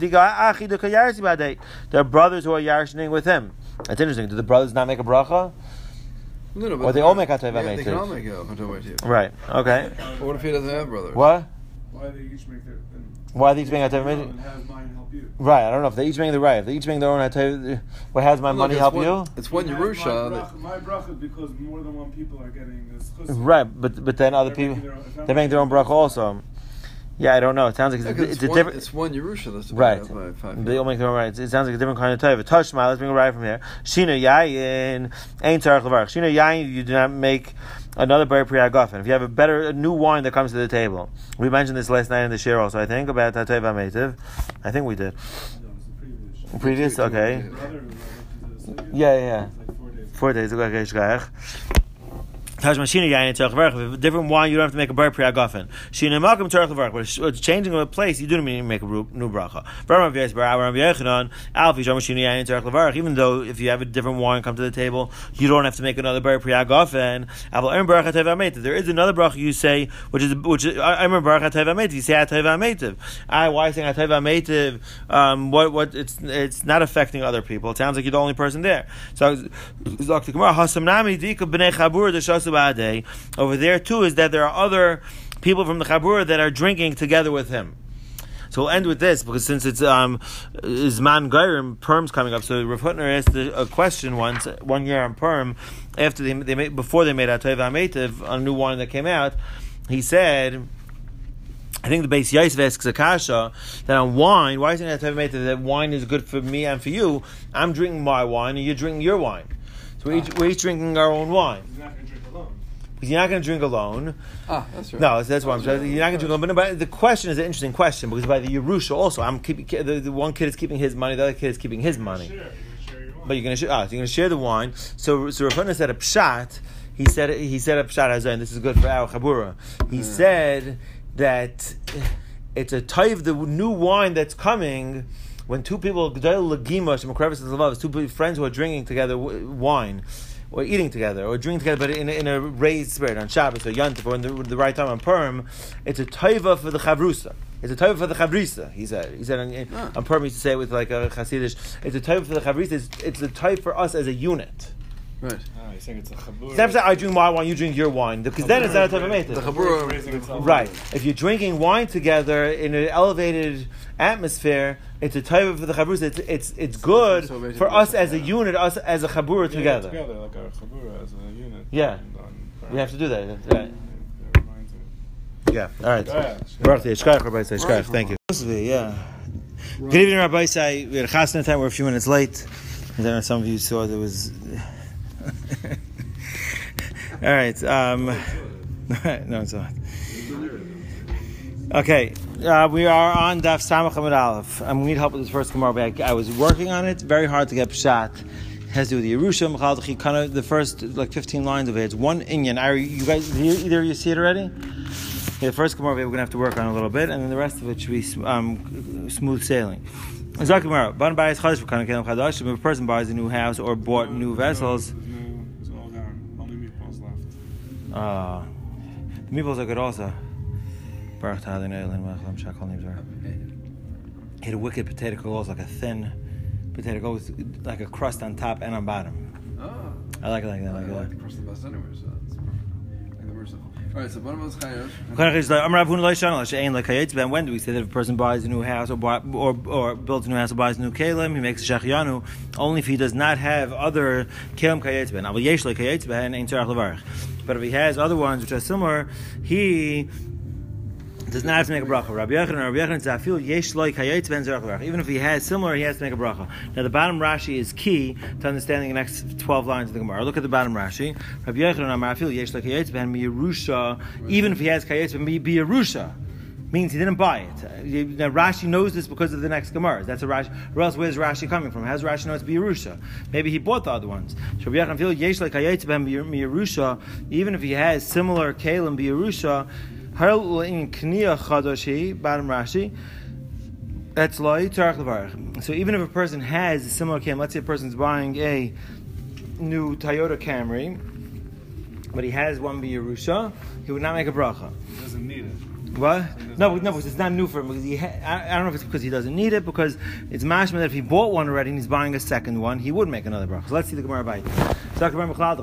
There are brothers who are Yarshining with him. That's interesting. Do the brothers not make a bracha? No, no, but or they all make Hatayv yeah, HaMeitiv. They can all make Hatayv HaMeitiv. Right. Okay. But what if he doesn't have brothers? What? Why do they each make their? Why are they each making Hatayv HaMeitiv? Have mine help you. Right. I don't know if they each making the right. If they each making their own Hatayv, what has my well, money look, help one, you? It's one Yerusha. My bracha is because more than one people are getting this. Chusma. Right, but but then other they're people making own, they're making their own bracha also. Yeah, I don't know. It sounds like it's, yeah, it's, it's a one, different. It's one Yerusha that's right. By five they all make their own rights. It sounds like a different kind of type. Tashma, let's bring a right from here. Shina yayin ain't tzarich levarach. Shina yayin, you do not make another bar pri hagafen. If you have a better a new wine that comes to the table, we mentioned this last night in the shir also. I think about Hatayv HaMeitiv. I think we did. No, it was the Previous, previous. okay. Yeah, yeah, yeah. Four days. Okay, shkach. Different wine, you don't have to make a bar pri hagafen. But it's changing a place, you do need to make a new bracha. Even though if you have a different wine come to the table, you don't have to make another bar pri hagafen. There is another bracha you say, which is which is, I remember Baruch Hatayv HaMeitiv. You say Hatayv HaMeitiv. I why saying Hatayv HaMeitiv? Um, what what it's it's not affecting other people. It sounds like you're the only person there. So over there too is that there are other people from the Chabura that are drinking together with him. So we'll end with this because since it's um Zman Gairim, Purim's coming up. So Rav Hutner asked a question once one year on Purim after they they made, before they made Hatayv HaMeitiv on a new wine that came out. He said, I think the Beis Yosef asks Akasha that on wine, why isn't Hatayv HaMeitiv that wine is good for me and for you? I'm drinking my wine and you're drinking your wine. So we're each, we're each drinking our own wine. He's not going to drink alone. Because you're not going to drink alone. Ah, that's right. No, that's what I'm saying. You're not going to drink alone. But the question is an interesting question because by the Yerusha also, I'm keeping the, the one kid is keeping his money, the other kid is keeping his money. Share. You're going to share your wine. But you're going to share. Ah, so you're going to share the wine. So, so Rav Hutner said a pshat. He said he said a pshat hazeh, and this is good for our chabura. He yeah. said that it's a taiv, the new wine that's coming. When two people, two friends who are drinking together wine, or eating together, or drinking together, but in a, in a raised spirit on Shabbos or Yom Tov, or in the, the right time on Purim, it's a taiva for the chavrusa. It's a taiva for the chavrisa. He said. He said on, ah. on Purim, he used to say it with like a Hasidish. It's a taiva for the chavrisa. It's, it's a taiva for us as a unit. Right. Oh, you're saying it's a chabura. Instead of I drink my wine, you drink your wine, because then it's not a taiva meitiv. The chabura, right? If you're drinking wine together in an elevated atmosphere, it's a taiva for the chabura. It's it's it's good so for us as a unit, us as a chabura yeah, together. Together, like our chabura as a unit. Yeah, we have to do that. Right. Yeah. All right. Baruch Yeshkach, Rabbi Yeshkach. Thank you. Yeah. Good evening, Rabbi Say. We had a chasna time. We're a few minutes late. I don't know if some of you saw there was. All right. Um, no, it's not. Okay, uh, we are on Daf Samach Amud Aleph. I'm going to need help with this first Gemara. I, I was working on it. Very hard to get pshat. It has to do with the Yerusha, Mechal, kind of the first like fifteen lines of it. It's one inyan. I, you guys, either of you see it already? Yeah, the first Gemara we're going to have to work on a little bit, and then the rest of it should be um, smooth sailing. Zak Gemara. Ban bayis chadash for kind of kelim chadash. If a person buys a new house or bought no, new vessels, no, it's all gone. Only meatballs left. Uh, the meatballs are good also. Baruch Ta'ala Ne'elim Ma'achalam Shakal Nibzar. He had a wicked potato goes like a thin potato goes like a crust on top and on bottom. Oh. I like it like that. I I like like it. the crust the best anyway, so that's perfect. Like the merciful. All right, so one of us chayav. When do we say that if a person buys a new house or buy, or or builds a new house or buys a new kelim, he makes a shachianu only if he does not have other kelim kayetz ben. But if he has other ones which are similar, he does not have to make a bracha. Rabbi Yochanan, Rabbi Yochanan says, "Afil yesh loy kayetz ben zerach levarach." Even if he has similar, he has to make a bracha. Now, the bottom Rashi is key to understanding the next twelve lines of the Gemara. Look at the bottom Rashi. Rabbi Yochanan, Amar afil yesh loy kayetz ben miyerusha. Even if he has kayetz ben miyerusha, means he didn't buy it. Now, Rashi knows this because of the next Gemara. That's a Rashi. Or else, where's Rashi coming from? How does Rashi know it's biyerusha? Maybe he bought the other ones. Rabbi Yochanan afil yesh loy kayetz ben miyerusha. Even if he has similar kelim biyerusha. In Kniya Chadashi, bottom Rashi, that's loy tzarich levarach. So even if a person has a similar Camry, let's say a person's buying a new Toyota Camry, but he has one b'Yerusha, he would not make a bracha. He doesn't need it. What? No, no, because it's not new for him. Because he ha- I, I don't know if it's because he doesn't need it, because it's mashma that if he bought one already and he's buying a second one, he would make another bracha. So let's see the Gemara by. It's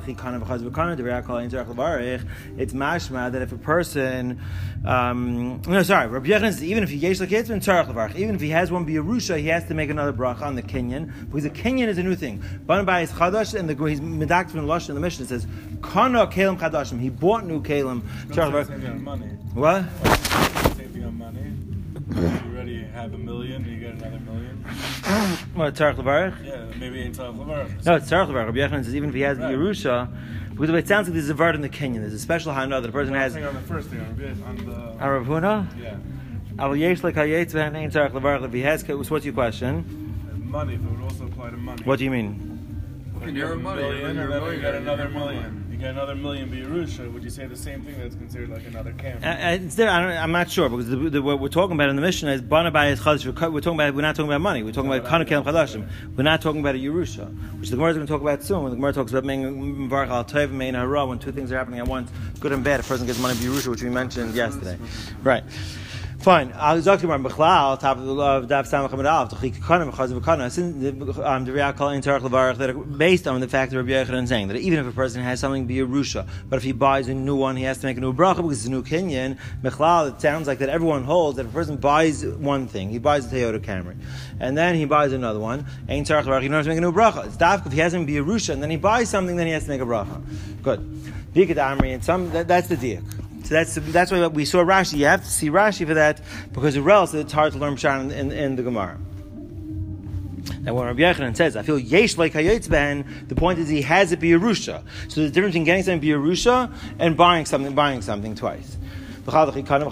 mashma that if a person, um, no, sorry, Rabbi Yochanan says even if he yesh l'ketz ben tzarich levarach, even if he has one b'Yerusha, he has to make another bracha on the kinyan, because the kinyan is a new thing. Ban bayis chadash, and the he's medaktiv in Lashon in the Mishnah says kana kelim chadashim. He bought new kelim tzarich levarach. What? Same thing on money. You already have a million, and you get another million. What, tzarich levarach? Yeah, maybe in tzarich levarach. No, it's tzarich levarach. Rabbi Yochanan says even if he has right. the Yerusha, because it sounds like there's a vart in the Kenyan. There's a special hana that a person has. On the first thing, on the. On Rav Huna? Yeah. Al yesh lekayetz v'hanein tzarich levarach. If he has, what's your question? Money. If it would also apply to money. What do you mean? Like you're a million, and then you get another million. You get another million b'Yerusha. Would you say the same thing that's considered like another camp? Uh, it's there, I don't, I'm not sure, because the, the, what we're talking about in the Mishnah is bana bayis chadash. We're talking about. We're not talking about money. We're talking about kana kelim chadashim. We're not talking about a Yerusha, which the Gemara is going to talk about soon. When the Gemara talks about mein varach al tov and mein hara, when two things are happening at once, good and bad. A person gets money b'Yerusha, which we mentioned yesterday. Right. Fine. I'll talk about Bechlal, top of the Daf Samach Amud Aleph, the Chikanim, Chazav Kana, the Reakal in Tzarich Levarach, that are based on the fact that Rabbi Yochanan is saying that even if a person has something b'Yerusha, but if he buys a new one, he has to make a new bracha because it's a new kinyan. Bechlal, it sounds like that everyone holds that if a person buys one thing, he buys a Toyota Camry, and then he buys another one, Ein Tzarich Levarach, he doesn't have to make a new bracha. It's dafka if he has something b'Yerusha, and then he buys something, then he has to make a bracha. Good. Dikad Amri, and some that, that's the diak. So that's that's why we saw Rashi. You have to see Rashi for that, because or else it's hard to learn Pshat in, in, in the Gemara. Now when Rabbi Yochanan says, I feel yesh like hayotz ben, the point is he has it b'Yerusha. So the difference between getting something b'Yerusha and buying something buying something twice. If you have something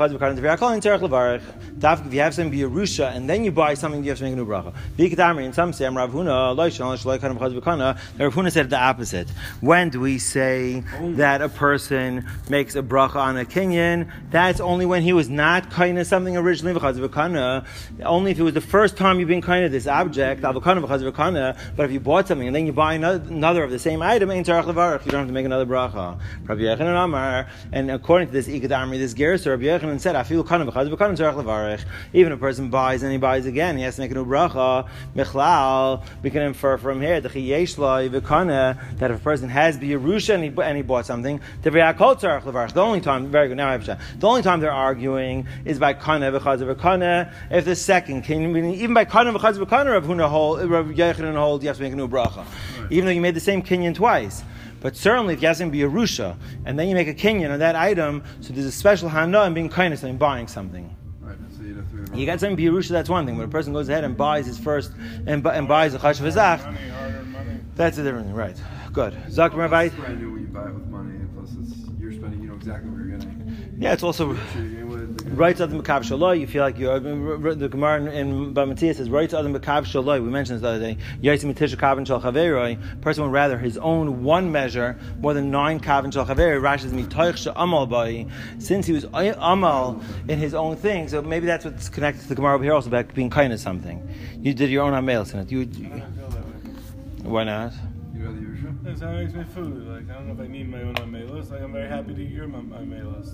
b'Yerusha and then you buy something, you have to make a new bracha. And some say, Rav Huna, Rav Huna said the opposite. When do we say that a person makes a bracha on a kinyan? That's only when he was not kind of something originally, only if it was the first time you've been kind of this object, but if you bought something and then you buy another of the same item, you don't have to make another bracha. And according to this Ikad this so Rabbi Yochanan said, "I feel kind of even if a person buys and he buys again, he has to make a new bracha." Michlal, we can infer from here that if a person has b'Yerusha and he, and he bought something, the only time, very good. Now I have a the only time they're arguing is by kana v'chaz v'kana. If the second, can, even by kana v'chaz v'kana, Rabbi Yochanan hold you have to make a new bracha, even though you made the same kinyan twice. But certainly, if you have something b'Yerusha and then you make a kinyan on that item, so there's a special hana in being kind of something, buying something. Right, so you, have to you got something b'Yerusha, that's one thing. When a person goes ahead and buys his first and, and buys a chashav v'zach, that's a different thing, right? Good. Zak Rabbi. It's brand new when you buy it with money, plus it's, you're spending, you know exactly what you're getting. Yeah, it's also. The Right to Adam B'Kav Shaloi, you feel like you're, the Gemara in Bamatia says, right to Adam B'Kav Shaloi, we mentioned this the other day, Yaitzim Mitisha Kavin Shal Chaveroi, person would rather his own one measure more than nine Kavin Shal Chaveroi, Rashi says, Mitoich Sha'amal Bai, since he was Amal in his own thing, so maybe that's what's connected to the Gemara over here also, about being kind of something. You did your own Amelis in it. You, you, I don't feel that way. Why not? You rather Yerusha? That's how I makes my food. Like, I don't know if I need my own amelos. Like, I'm very happy to eat your amelos.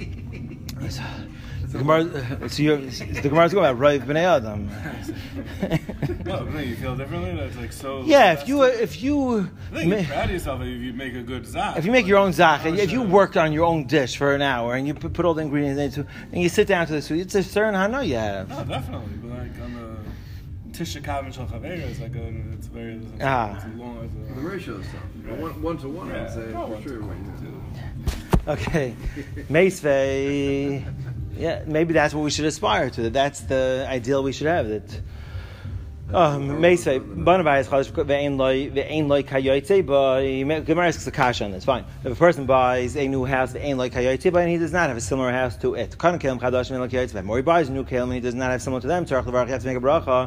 The Gemara, so you're, the Gemara's going about Rav B'nai Adam. No, no, you feel differently? That's like so... Yeah, if you... If you I think you're proud of yourself if you make a good zach. If you make your own zach, Oh, if you sure. worked on your own dish for an hour and you put, put all the ingredients into and you sit down to the food, it's a certain hana you have. No, definitely. But like on the Tisha Kavin Shal Chaveira, it's like a, it's very... It's, Ah. it's a long... It's a, The ratio stuff. Right. One, one to one, Yeah. I'd say, Oh, for one sure. to what one, you do. Okay. Meisvei. Yeah, maybe that's what we should aspire to. That's the ideal we should have. That um Meisvei. Banavai is chadash ve'ein loy ve'ein loy kayotze, but Gemara asks a kasha on this. Fine. If a person buys a new house ve'ein loy kayotze, but he does not have a similar house to it. Kana kelim chadash ve'ein loy kayotze. Or he buys a new kelim and he does not have similar to them. Tzarich levarach, you have to make a bracha.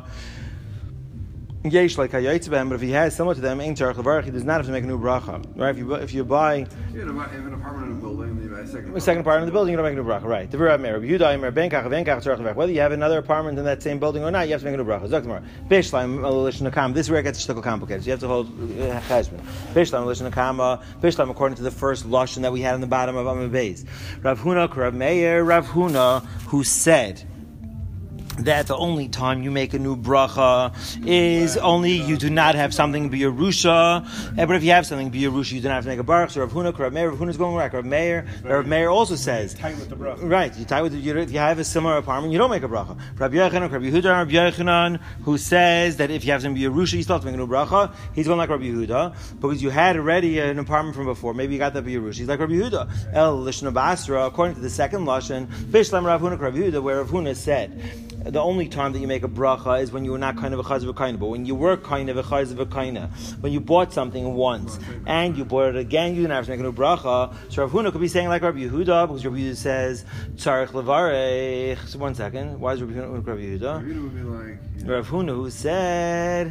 Yesh like hayotze b'hem, but if he has similar to them, ein tzarich levarach, he does not have to make a new bracha. Right? If you if you buy Yeah, if an apartment in a building, you buy a second a second apartment in the building, you don't make a new bracha. Right? The Rabbi Meir, Yehuda, Meir, Benkach, Benkach, tzarich levarach. Whether you have another apartment in that same building or not, you have to make a new bracha. Zaktamar, Bishlam Elishon Nakam. This is where it gets a little complicated. So you have to hold cheshbon. Bishlam Elishon Nakam. Bishlam, according to the first lashon that we had in the bottom of Amud Beis. Rav Huna, Rav Meir, Rav Huna, who said that the only time you make a new bracha is only you do not have something be a rusha. But if you have something be a rusha, you do not have to make a baruch. So Rav Huna, Rav Meir, Rav Huna is going right. Rav Meir, Rav Meir also says tight with the bracha. right. You tie with the, you, if you have a similar apartment, you don't make a bracha. Rabbi Yochanan, Rabbi Yehuda, Rabbi Yochanan, who says that if you have something be a rusha, you still have to make a new bracha. He's going like Rabbi Yehuda because you had already an apartment from before. Maybe you got that be a rusha. He's like Rabbi Yehuda. El Lishna Basra, according to the second lashon, Bishlam Rav Huna, Rabbi Yehuda, where Rav Huna said the only time that you make a bracha is when you were not kind of a chaz of a kind, but when you were kind of a chaz of a kind, when you bought something once and you bought it again, you didn't have to make a new bracha. So Rav Huna could be saying like Rabbi Yehuda, because Rabbi Yehuda says tzarich levarech. So one second, why is Rabbi Yehuda? Rabbi Yehuda Yehuda would be like, yeah. Rav Huna who said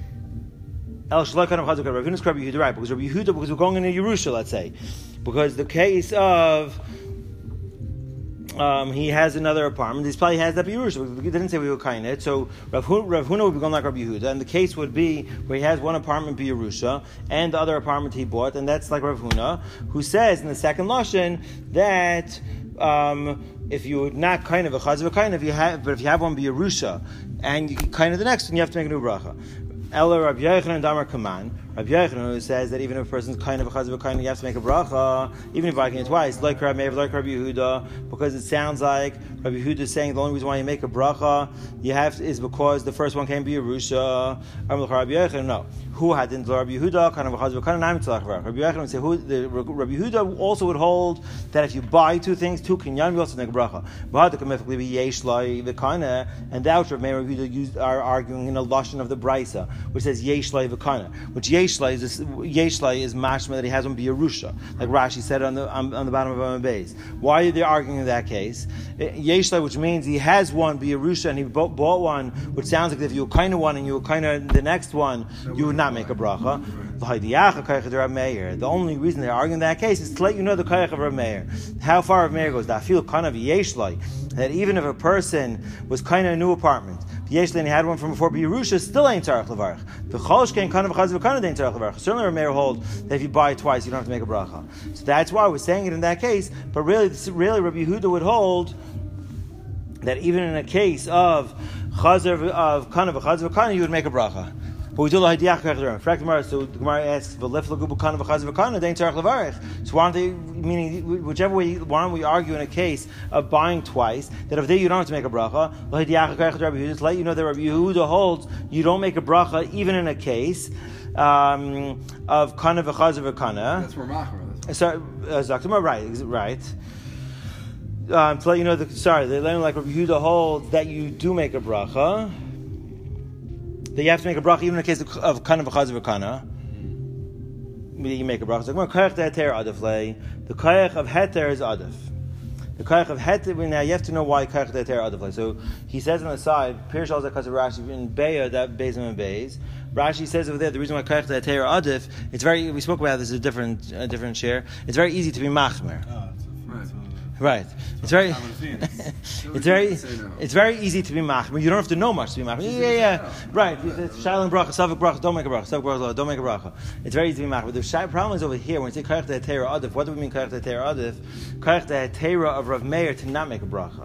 El Shalai Kadam Chazuk. Rav Huna's Rabbi Yehuda, right? Because Rabbi Yehuda, because we're going into Yerusha, let's say, because the case of Um, he has another apartment. He probably has that Yerusha. We didn't say we were kind of it. So Rav Huna, Rav Huna would be going like Rabbi Yehuda, and the case would be where he has one apartment be Yerusha and the other apartment he bought, and that's like Rav Huna, who says in the second lashon that um, if you're not kind of a chaz of a kind of you have, but if you have one be Yerusha and you kind of the next one, you have to make a new bracha. Ella Rabbi Yochanan Damar Kaman. Rabbi Yochanan who says that even if a person's kind of a chaz of a kind, you have to make a bracha, even if I can it twice, like Rabbi Meir, like Rabbi Yehuda, because it sounds like Rabbi Yehuda is saying the only reason why you make a bracha you have to, is because the first one can be a rusha. Rabbi Yochanan, no. Who had in Rabbi Yehuda kind of a chaz of a kind? Rabbi Yochanan would say who the Rabbi Yehuda also would hold that if you buy two things, two kinyan, you also make a bracha. And that which Rabbi Meir and Rabbi Yehuda used are arguing in a lashon of the brisa, which says yesh lai v'kana, which yesh lai is yesh lai is mashma that he has one be a rusha, like Rashi said on the on, on the bottom of Amud Beis. Why are they arguing in that case? Yesh lai, which means he has one be a rusha and he bought, bought one, which sounds like if you were kind of one and you were kind of the next one, you would not make a bracha. The only reason they're arguing in that case is to let you know the kayach of Rav Meir. How far Rav Meir goes, that feel kind of yesh lai, that even if a person was kind of a new apartment, yesh lai and he had one from before Yerusha, still ain't tzarich levarach. The cholosh can kind of a chaz of a kind of ain't tzarich levarach. Certainly Rav Meir hold that if you buy it twice, you don't have to make a bracha. So that's why we're saying it in that case. But really, really, Rabbi Yehuda would hold that even in a case of chaz of kind of a chaz of a kind, you would make a bracha. But we do the hadiach kach. So the Gemara asks, "V'lef lagubu kana v'chaz v'kana dein tzarich levarich." So why don't they? Meaning, whichever way, why don't we argue in a case of buying twice that if they you don't have to make a bracha? The hadiach kach Rabbi Yehuda to let you know that Rabbi Yehuda holds you don't make a bracha even in a case um, of kana v'chaz v'kana. That's more machmer. Sorry, Zaktima, right, right. Um, to let you know, the, sorry, they let him like Rabbi Yehuda holds that you do make a bracha. That you have to make a bracha even in the case of, of kind of a chaz of a kana. You make a bracha. The kayach of heter is adif. The koyach of heter. Now you have to know why koyach de'atera adif. So he says on the side, Pirush al zakas of Rashi in Beya that Beis and Beis. Rashi says over there the reason why koyach de'atera adif. It's very. We spoke about this a different a different share. It's very easy to be machmer. Oh, it's a, Right. it's a, Right. It's very. No, It's you very. can say no. It's very easy to be machmer. You don't have to know much to be machmer. Yeah, yeah. Right. It's Shaila and bracha, Savik bracha. Don't make a bracha. Savik bracha. Don't make a bracha. It's very easy to be machmer. The shy problem is over here when we say koyach de'atera adif. What do we mean koyach de'atera adif? Koyach de'atera of Rav Meir to not make a bracha.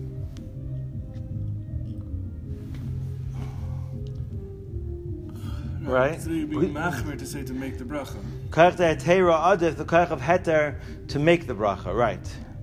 Right. So you'd be We- machmer to say to make the bracha. Koyach de'atera adif, the koyach of heter to make the bracha. Right.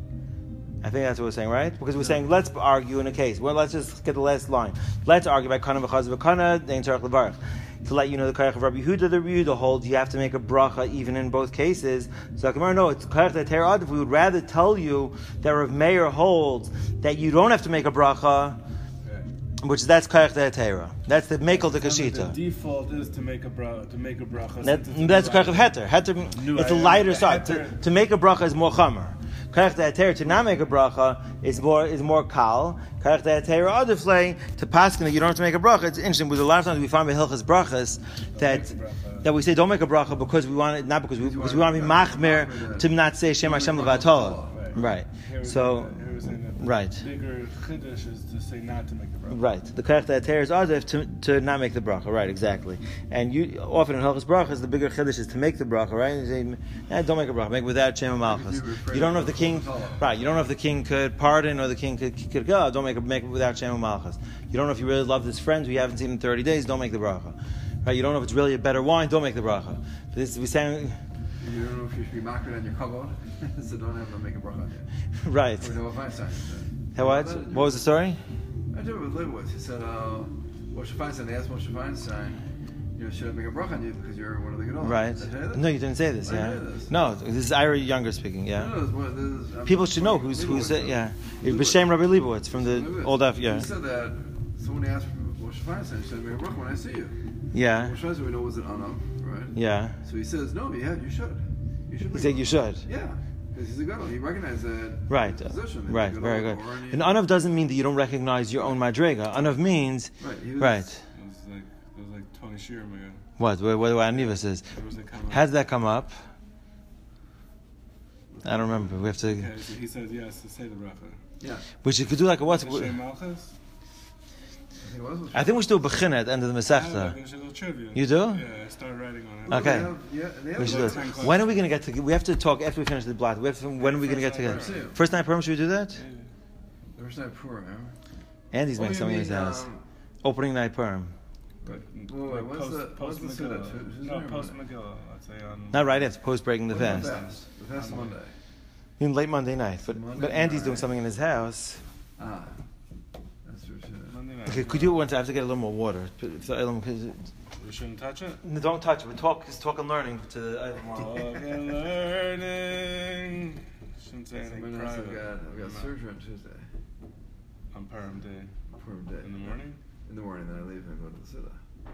I think that's what we're saying, right? Because we're saying let's argue in a case. Well, let's just get the last line. Let's argue by kana v'chaz v'kana dein tzarich levarach. To let you know the koyach of Rabbi Yehuda, the Rabbi Yehuda holds you have to make a bracha even in both cases. So Gemara, no, it's koyach de'atera adif. We would rather tell you that Rav Meir holds that you don't have to make a bracha, which that's koyach de'atera. That's the mekel de The kashita. default is to make a bracha. To make a bracha. That, since it's that's a koyach of heter. Heter, No, it's a I- lighter I- side. To, heter- to make a bracha is more chamer. Koyach de'atera to not make a bracha is more is more kal. Koyach de'atera adiflei to paskin that you don't have to make a bracha. It's interesting because a lot of times we find by hilchas brachas that make a bracha. that we say don't make a bracha because we want it not because we because we want to be machmer to not say Shem Hashem levatol. Right. Here we So say that- here we say that right. The bigger chiddush is to say not to make the bracha. Right. The koyach de'atera is adif to to not make the bracha. Right. Exactly. And you often in hilchas brachas the bigger chiddush is to make the bracha. Right. And you say, eh, don't make a bracha. Make it without Shem Malchus. You don't know if the king. Right. You don't know if the king could pardon or the king could could go. Don't make it make it without Shem Malchus. You don't know if you really love this friend who you haven't seen in thirty days. Don't make the bracha. Right. You don't know if it's really a better wine. Don't make the bracha. But this we saying. You don't know if you should be makrid on your kavod, so don't have to make a bracha on you. Right. Or no Feinstein. How what? What was the story? I did it with Leibowitz. He said, uh, Moshe Feinstein, they asked Moshe Feinstein, you know, should I make a bracha on you because you're one of the Gedolim? Right. Did I tell you this? No, you didn't say this. I Yeah. did this. No, this is Ira Younger speaking. Yeah. No, no, this, one- this is, um, People should know who's who's it. Yeah. B'Shem Rabbi Leibowitz from the Leibowitz. old Af. Yeah. He said that someone asked Moshe Feinstein, should I make a bracha when I see you? Yeah. Moshe Feinstein, we know was an anam, right? Yeah. So he says, no, yeah, you should. You should He make said a you bracha. should. Yeah. Because he's a Gadol. He recognized that Right. position. that Right. he's a Very Gadol, good. or any- And anav doesn't mean that you don't recognize your own madrega. Anav means Right. He was, right. It was like it was like Tony Sheeran again. What? What? What? What Aniva says. There was a comment. How did that come up? I don't remember. We have to. Okay, so he said yes to say the bracha. Yeah. We should could do like a what? Shem Malchus? I think it was. I think we should do a bechina at the end of the I Masechta. think it's a trivia. You do? Yeah, I started writing on it. Okay. They have, yeah, they have We should like do ten it. questions. When are we going to get to? We have to talk after we finish the blot. We have to, when are we going to get First together? night First night Purim. Should we do that? Yeah. The first night Purim, remember? Andy's Oh, making you something in his mean, house. um, Opening night Purim. But wait, like what's post, the- post what's the Megillah. Siddur? Who's No, there post Monday? Megillah. Let's say on. Not right after post breaking the When's fast. The fast Monday. You mean late Monday night, but Monday but Andy's night. doing something in his house. Ah. That's true, too. Monday night. Okay, could you once? I have to get a little more water. If the item- 'cause it- We shouldn't touch it. No, don't touch it. But talk, just talk and learning to the item. Okay, learning. Shouldn't say anything Somebody else, I've private. got, I've got No. surgery on Tuesday. On Purim day. Purim day. In the morning? In the morning, then I leave and go to the Siddur.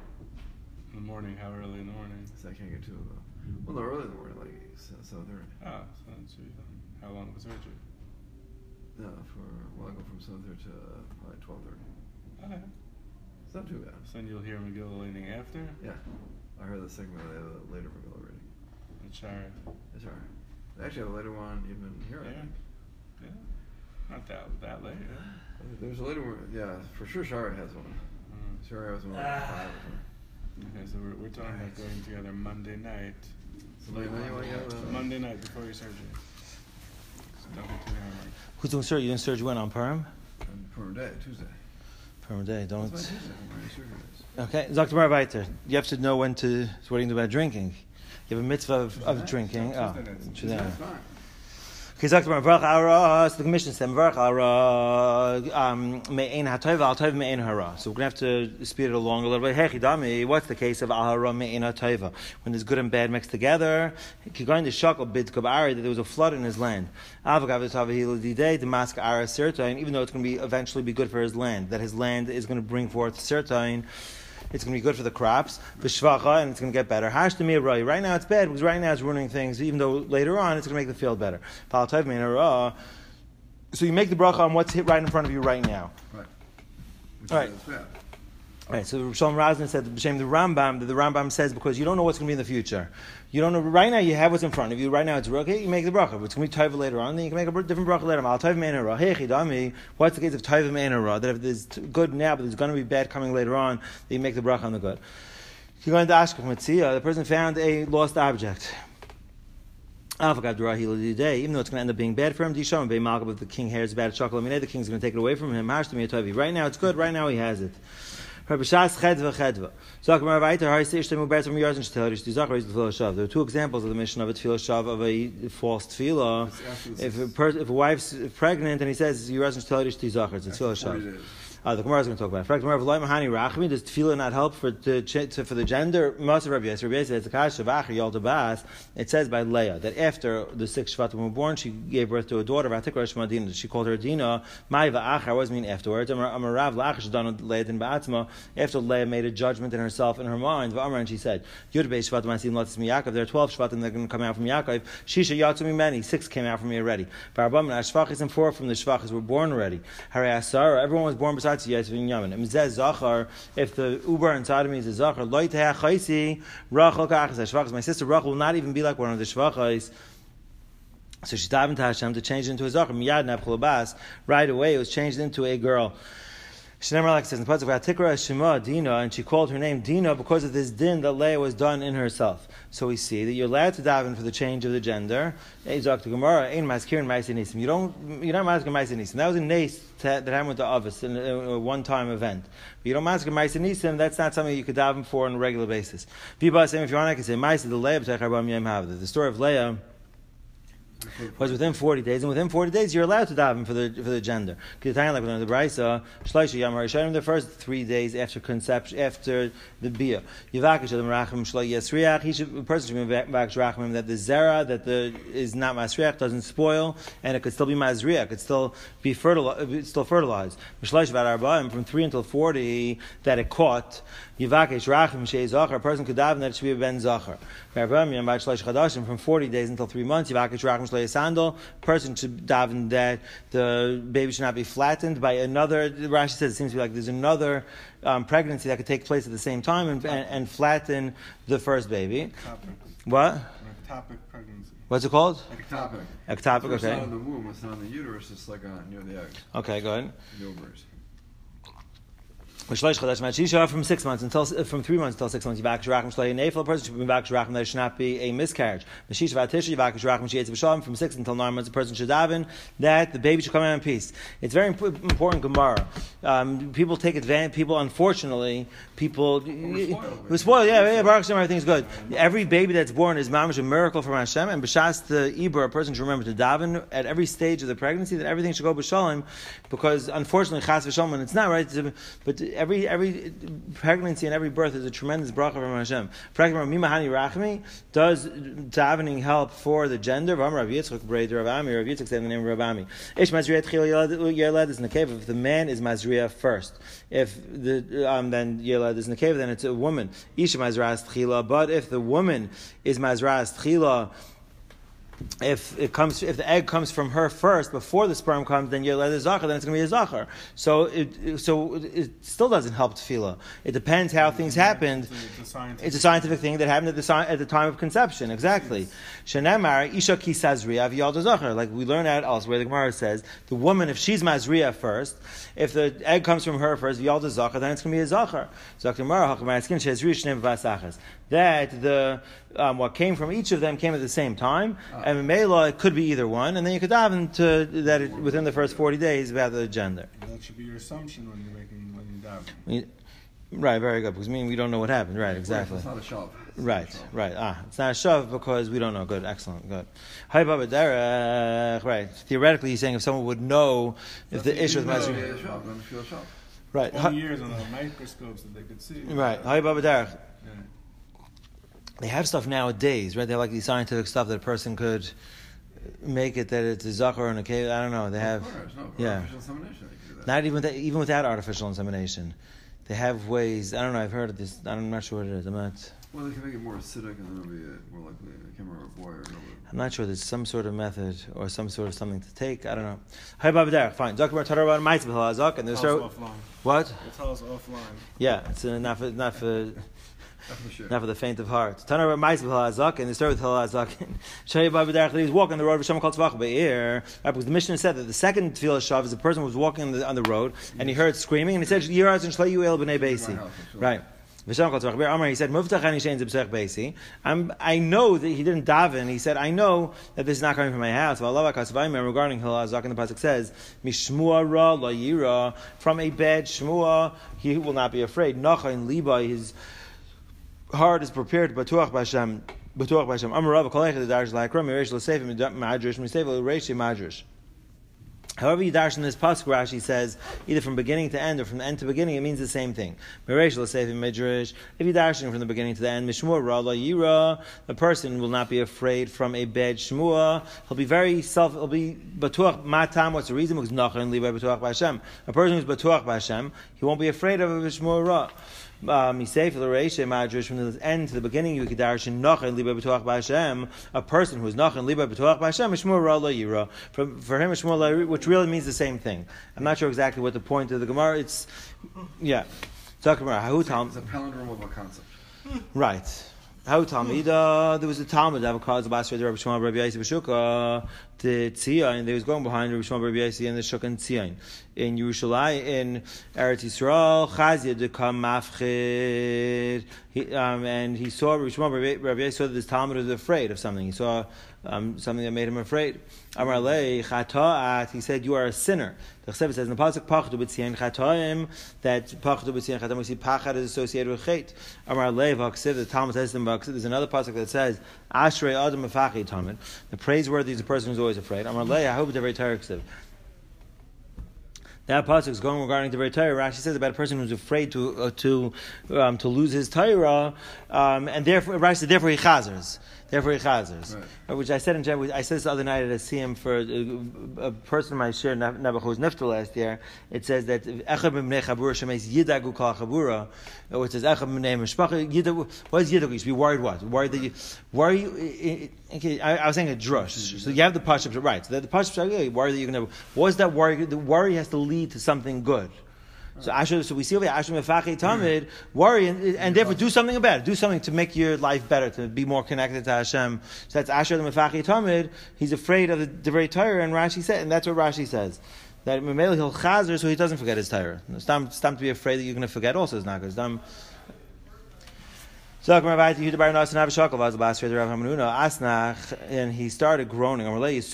In the morning, how early in the morning? So I can't get to it, though. Well, no, early in the morning, like seven thirty. Ah, so that's what you done. How long was surgery? No, for, well, I go from seven thirty to uh, probably twelve thirty. Okay. It's not too bad. So then you'll hear Megillah leaning after? Yeah. I heard the segment of the later Megillah reading. And Shara. It's alright. They actually have a later one even here, I Yeah. think. Yeah. Not that that late, yeah. There's a later one, yeah, for sure Shara has one. Mm. Shara has one like five or something. Okay, so we're, we're talking about going together Monday night. So Monday night, you want to get a- Monday night before your surgery. So don't be too hammered. Who's doing surgery? You doing surgery when on Purim? On Purim day, Tuesday. Purim day. Don't. That's my Tuesday. My surgery is. Okay, Doctor Marvaiter, you have to know when to. So what do you do about drinking? You have a mitzvah of, of drinking. Tuesday Oh, nights. Tuesday Yeah, night. it's fine. Okay, Doctor Marvaiter, Ara. So the commission said Marvaiter, Ara. Um, me'ein hatov al tov me'ein hara. So we're gonna have to speed it along a little bit. Hey, Chidami, what's the case of al hara me'ein hatova? When there's good and bad mixed together. Kigain the shakel bid kabari that there was a flood in his land. Avagav tavahil didei demask ara sirtain. Even though it's going to be eventually be good for his land, that his land is going to bring forth sirtain. It's going to be good for the crops, the shvacha, and it's going to get better. Hash to me right now it's bad because right now it's ruining things. Even though later on it's going to make the field better. So you make the bracha on what's hit right in front of you right now. Right. Which All right. is bad. Right, so Shalom Razin said, B'Shem the Rambam, that the Rambam says because you don't know what's going to be in the future. You don't know, right now you have what's in front of you, right now it's okay, you make the bracha. But it's going to be Taiva later on, then you can make a different bracha later on. Al Taiva Me'en Hara. Hey, Chidami, what's the case of Taiva Me'en Hara? That if there's good now, but there's going to be bad coming later on, then you make the bracha on the good. If you go into Ashkaf Metzia, the person found a lost object. Even though it's going to end up being bad for him, if the king hair is bad chocolate, I mean, the king's going to take it away from him. Right now it's good, right now he has it. There are two examples of the mission of a tefillah shav of a false tefillah. If a, per, if a wife's pregnant and he says, "You rashin shtelarish tizachar," it's a tefillah shav. Uh, the Gemara is going to talk about it. In fact, Gemara, does tefillah not help for to, to, for the gender? Most of Rabbi Yisrael, Rabbi Yisrael says, "Akasha v'achar it says by Leah that after the six Shvatim were born, she gave birth to a daughter. V'atikra Shema Dina. She called her Dina. Mai v'achar. What does it mean afterwards? Amarav l'achar shadanu Leah din ba'atzma. After Leah made a judgment in herself in her mind, v'amar, and she said, Yud beis Shvatim asim latzis mi Yaakov. There are twelve Shvatim that are going to come out from Yaakov. Shisha yatzu mi many. Six came out from me already. V'arbam and Shvachis and four from the Shvachis were born already. Harei Asar. Everyone was born besides Yes v'Inyamin. If the uber inside of me is a zachar, loy teha chaysi rachel kachas shvachas. My sister Rachel will not even be like one of the shvachas. So she davened to Hashem to change it into a zachar. Miyad nabchul bas. Right away, it was changed into a girl. Shneimar like says in the pasuk Vatikra Shema Dina, and she called her name Dina because of this din that Leah was done in herself. So we see that you're allowed to daven for the change of the gender. You don't, you're not masking ma'aseh nisim. That was a nace that happened with the Avos in a one-time event. But you don't mask ma'aseh nisim. That's not something you could daven for on a regular basis. If you want, I can say ma'aseh the Leah the story of Leah was within forty days, and within forty days you're allowed to daven for the for the gender. Like we learned the Brisa, Shloisha Yam Rishayim, the first three days after conception, after the bia. Yivakish Adam Rachim Shlo Yesriach. He should, a person should be vakish Rachim that the zera that the is not masriach doesn't spoil, and it could still be masriach. It could still be fertilized. Still fertilized. Shloisha Vad Arba'im from three until forty that it caught. Yivakish Rachim Shei Zachar. A person could daven that it should be a ben Zachar. From forty days until three months, Yivakish Rachim Shlo Yesandal. A person should daven that the baby should not be flattened by another. Rashi says it seems to be like there's another um, pregnancy that could take place at the same time and, and, and flatten the first baby. Ectopic. What? Ectopic pregnancy. What's it called? Ectopic. Ectopic. It's Okay. not in the womb. It's not in the uterus. It's like uh, near the egg. Okay. Go ahead. The ovaries. From six months until from three months until six months, a person should be back that it should not be a miscarriage. From six until nine months, a person should daven that the baby should come out in peace. It's very important Gemara. Um, people take advantage. People, unfortunately, people who spoil. Yeah, yeah, Baruch Hashem, everything's good. Every baby that's born is mamish a miracle from Hashem, and b'shas the Ibra, a person should remember to daven at every stage of the pregnancy that everything should go b'shalom, because unfortunately, chas v'shalom, and it's not right, but every every pregnancy and every birth is a tremendous bracha from Hashem. Mimahani Rachmi does davening help for the gender? Rav Yitzchak Breder Rav Ami. Rav Yitzchak said the name of Rav Ami. Ish Mazriya Tchil Yelad is Nekev. If the man is Mazriya first, if the um, then Yelad is Nekev, then it's a woman. Isha Mazras Tchila. But if the woman is Mazras Tchila, if it comes, if the egg comes from her first before the sperm comes, then you're a zachar. Then it's going to be a zachar. So it, so it still doesn't help tefillah. It depends how things happened. It's a scientific, it's a scientific thing that happened at the at the time of conception. Exactly. Shenamar isha ki sazriya v'yalda zachar. Like we learn out elsewhere, the Gemara says the woman, if she's mazriya first, if the egg comes from her first, v'yalda zachar, then it's going to be a zachar. That the um, what came from each of them came at the same time. And Mela, it could be either one, and then you could daven to that it, within the first forty days about the gender. That should be your assumption when you're making when you daven. We, right, very good. Because I mean we don't know what happened. Right, exactly. It's not a shav. Right, right. Ah, it's not a shav because we don't know. Good, excellent, good. Hi, Baba Derech. Right. Theoretically, he's saying if someone would know if the issue with Mazur. Right. Twenty years on the microscopes that they could see. Right. Hi, Baba Derech. Yeah. They have stuff nowadays, right? They have like these scientific stuff that a person could make it that it's a zachar and a cave. I don't know. They have, no, yeah. artificial insemination. They can do that. Not even with, even without artificial insemination, they have ways. I don't know. I've heard of this. I'm not sure what it is. I'm not. Well, they can make it more acidic, and then it'll be uh, more likely. I can't remember a boy or no. I'm not sure. There's some sort of method or some sort of something to take. I don't know. Hi, Baba Derek. Fine. Doctor Tarabah Maitzah B'Halazak, and there's Tell us offline. what? Tell us offline. Yeah, it's uh, not for not for. Not for sure. Not for the faint of heart. Tanur Ma'is B'Halazak, and the story with Halazak. Shei Baba Derech, he was walking on the road. V'Shem Kol Tzvach Be'ir. Because the Mishnah said that the second tefillah shav is a person who was walking on the, on the road and he heard screaming, and he said, "Yiraz and Shlei Yuel B'nei Beisi." Right. V'Shem Kol Tzvach Be'ir. Amar, he said, "Muftach Ani Shein Zebsech Beisi." I'm, I know that he didn't daven. He said, "I know that this is not coming from my house." V'Alav HaKasvayim, regarding Halazak, and the pasuk says, "Mishmua Ra La Yira." From a bad shmua, he will not be afraid. Nachain Liba, his heart is prepared. Batuach B'Hashem, Batuach B'Hashem. Amarav Kolech the Darsh Laikram Yeresh L'Seifim Madrash Miseif L'Reishi Madrash. However you dash in this pasuk, Rashi says either from beginning to end or from end to beginning, it means the same thing. Mereish L'Seifim Midrash. If you dash from the beginning to the end, Mishmur Ra La Yira, the person will not be afraid from a bad shmua. He'll be very self. He'll be Batuach Matam. What's the reason? Because Nachon Liba Batuach B'Hashem. A person who's Batuach B'Hashem, he won't be afraid of a Mishmur Ra. Misayf l'reisha madrash, from the end to the beginning, you could darshan nachon liba b'tuach b'Hashem. A person who is nachon liba b'tuach b'Hashem, mishmur ra lo yira. For for him, mishmur la yira, which really means the same thing. I'm not sure exactly what the point of the Gemara. It's yeah. Talking about how It's a palindrome of a concept. right. How Talmida, there was a Talmud that caused the Basra Rabbi Shmuel Rabbi Yossi B'Shuka to Tzion, and they was going behind Rabbi Shmuel Rabbi Yossi and the Shuk and Tzion in Yerushalayim, in Eretz Yisrael. Chazia de Kam Mafchid, um, and he saw Rabbi Shmuel Rabbi, Rabbi Yossi saw that this Talmud was afraid of something. He saw um, something that made him afraid. Amar Lei Chataat, he said, "You are a sinner." The Chesed says in the pasuk Pachdu B'Tzion Chataim, that Pachdu B'Tzion Chataim, we see Pachad is associated with Chet. Amar Lei V'Chesed, the Talmud says in the V'Chesed, there's another pasuk that says Ashrei Adam Mefachi Talmud, the praiseworthy is a person who's always afraid. Amar Lei, I hope it's a very Torah Chesed. That pasuk is going regarding the very Torah. Rashi says about a person who's afraid to uh, to um, to lose his Torah, um, and therefore Rashi said, therefore he chazers. Therefore he chazers. Right. Which I said in general, I said this the other night at a C M for a, a person in my shir, Nebuch, who was nifter last year. It says that Echad B'nei Chabura Shemeis Yidagu Kal Chabura, which says Echad B'nei Mishpacha Yidagu. What is Yidagu? You should be worried what? Worried that you, worry. Okay, I, I was saying a drush. So you have the pashup right. So the, the pashup okay, worry that you're going to. What is that worry? The worry has to lead to something good. So Asher, so we see over here, Asher Mefachi Tamid, worry and, and therefore do something about it. Do something to make your life better, to be more connected to Hashem. So that's Asher Mefachi Tamid. He's afraid of the Divrei Torah, and Rashi said, and that's what Rashi says. That Memele he'll chazer so he doesn't forget his Torah. Stam, stam to be afraid that you're going to forget also is not good. Stam. So and he started groaning. You want to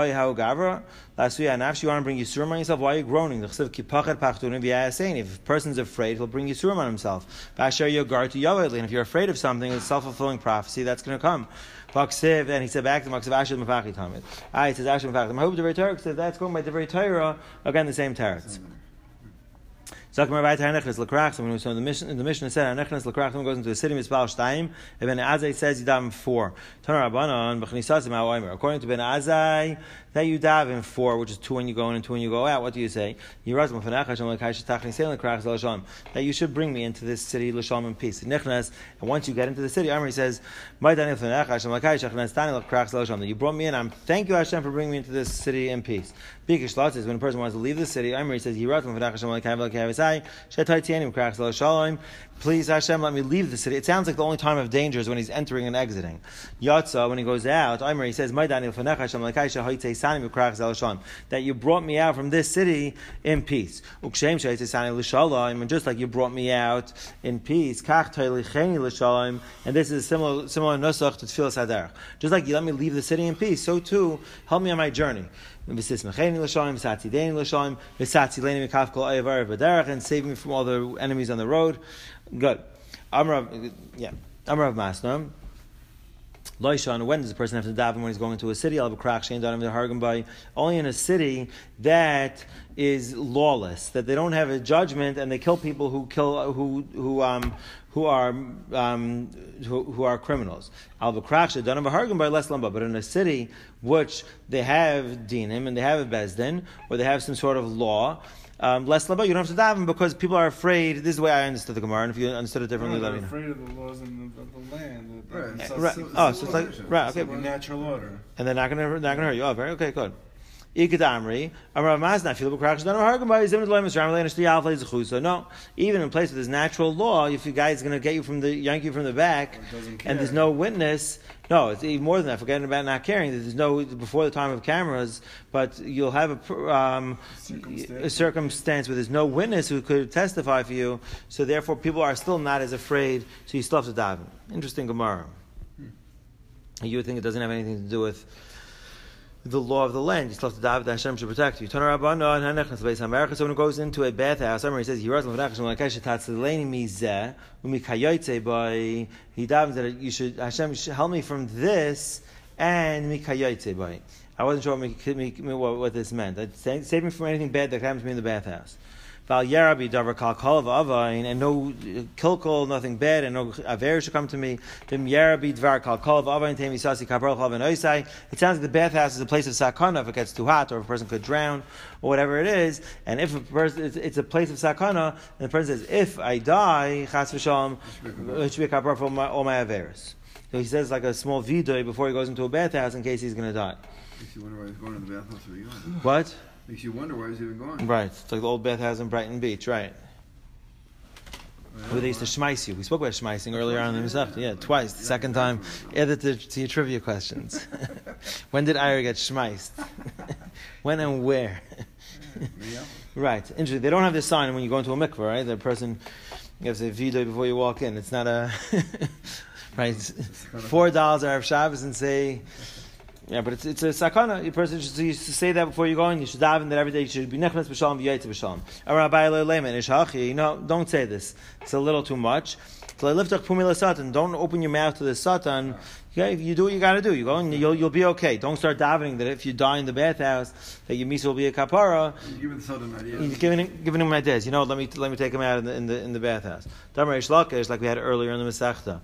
bring Yisurim on yourself? Why are you groaning? If a person's afraid, he'll bring Yisurim on himself. And if you're afraid of something, it's a self-fulfilling prophecy that's going to come. And he said back to him, ah, he says, I hope the very Torah says that's going by the very Torah. Again, the same teretz. So the mission, the mission said, someone goes into a city, Mispal Shtayim, and Ben Azai says you daven four. According to Ben Azai, that you daven four, which is two when you go in and two when you go out. What do you say? That you should bring me into this city, L'Shalom, in peace. And once you get into the city, Amri says, that you brought me in, I'm thank you Hashem for bringing me into this city in peace. Bikish Lot says, when a person wants to leave the city, Amri says, please Hashem, let me leave the city. It sounds like the only time of danger is when he's entering and exiting. Yatsa, when he goes out, Amri, he says, that you brought me out from this city in peace. And just like you brought me out in peace, and this is a similar similar nusach to Tfilas Haderech. Just like you let me leave the city in peace, so too help me on my journey. And save me from all the enemies on the road. Good. Amrav, yeah. Amrav Masna. Loishan, when does a person have to daven when he's going into a city? I'll have a crack, Shane, don't have the Hargam by. Only in a city that is lawless, that they don't have a judgment and they kill people who kill, who, who, um, who are, um, who, who are criminals. I'll have a crack, don't have a Hargam by less lamba, but in a city which they have dinim and they have a bezdin, or they have some sort of law, Um, less laba, you don't have to daven because people are afraid. This is the way I understood the Gemara, and if you understood it differently, No, let they're me know. afraid of the laws in the, of the land. The, Right. the, So- Right. so- Oh, so so it's like civilization. right. Okay. the natural order. And they're not going to not going to hurt you. Oh, very okay. Good. Ikadamri, Amrav Mazna, feel b'krach shadanu hargam by zimned loyim esram lein shti alfei zechusa. No, even in place where there's natural law, if you guys going to get you from the yank you from the back, Or doesn't and there's care. no witness. No, it's even more than that. Forgetting about not caring. There's no before the time of cameras, but you'll have a pr- um, Circumstance. a circumstance where there's no witness who could testify for you. So therefore, people are still not as afraid. So you still have to daven. Interesting Gemara. You would think it doesn't have anything to do with the law of the land. You still have to daven that Hashem should protect you. Turn around, no, and Hanech, the base of America. So when it goes into a bathhouse, he says, he he davens that you should, Hashem should help me from this and mikayotze by. I wasn't sure what, what, what this meant. Save, save me from anything bad that happens to me in the bathhouse. Val Yarabi Davar Kal Kol Avain, and no kilkol, nothing bad, and no aver should come to me. Vim Yarabi Dvar Kal Kol Avain Temi Sasi Kabrol Chal Venoisai. It sounds like the bathhouse is a place of sakana if it gets too hot, or if a person could drown, or whatever it is. And if a person, it's, it's a place of sakana, and the person says, "If I die, Chas v'Shalom, it should be a kaparah for all my, all my averos." So he says like a small vidoy before he goes into a bathhouse in case he's going to die. Makes you wonder why he's going to the bathhouse where you going. What? Makes you wonder why he's even going. Right. It's like the old bathhouse in Brighton Beach, right? Where they used to schmeiss you. We spoke about schmeissing earlier on in the Masechta. Yeah, twice. The second time, added to, to your trivia questions. When did Ira get schmeissed? When and where? Right. Interesting. They don't have this sign when you go into a mikveh, right? The person, you have to say vidoy before you walk in. It's not a... right. Four dollars Erev Shabbos and say... Yeah, but it's it's a sakana. Your person should, you should say that before you go in. You should daven that every day. You should be nechnas b'shalom v'yayitz b'shalom. No, don't say this. It's a little too much. Don't open your mouth to the satan. Yeah, you do what you got to do. You go and you'll you'll be okay. Don't start davening that if you die in the bathhouse that your misa will be a kapara. You're giving the sudden idea. He's giving him, giving him ideas. You know, let me let me take him out in the in the, in the bathhouse. Damar Reish Lakish, like we had earlier in the Masechta.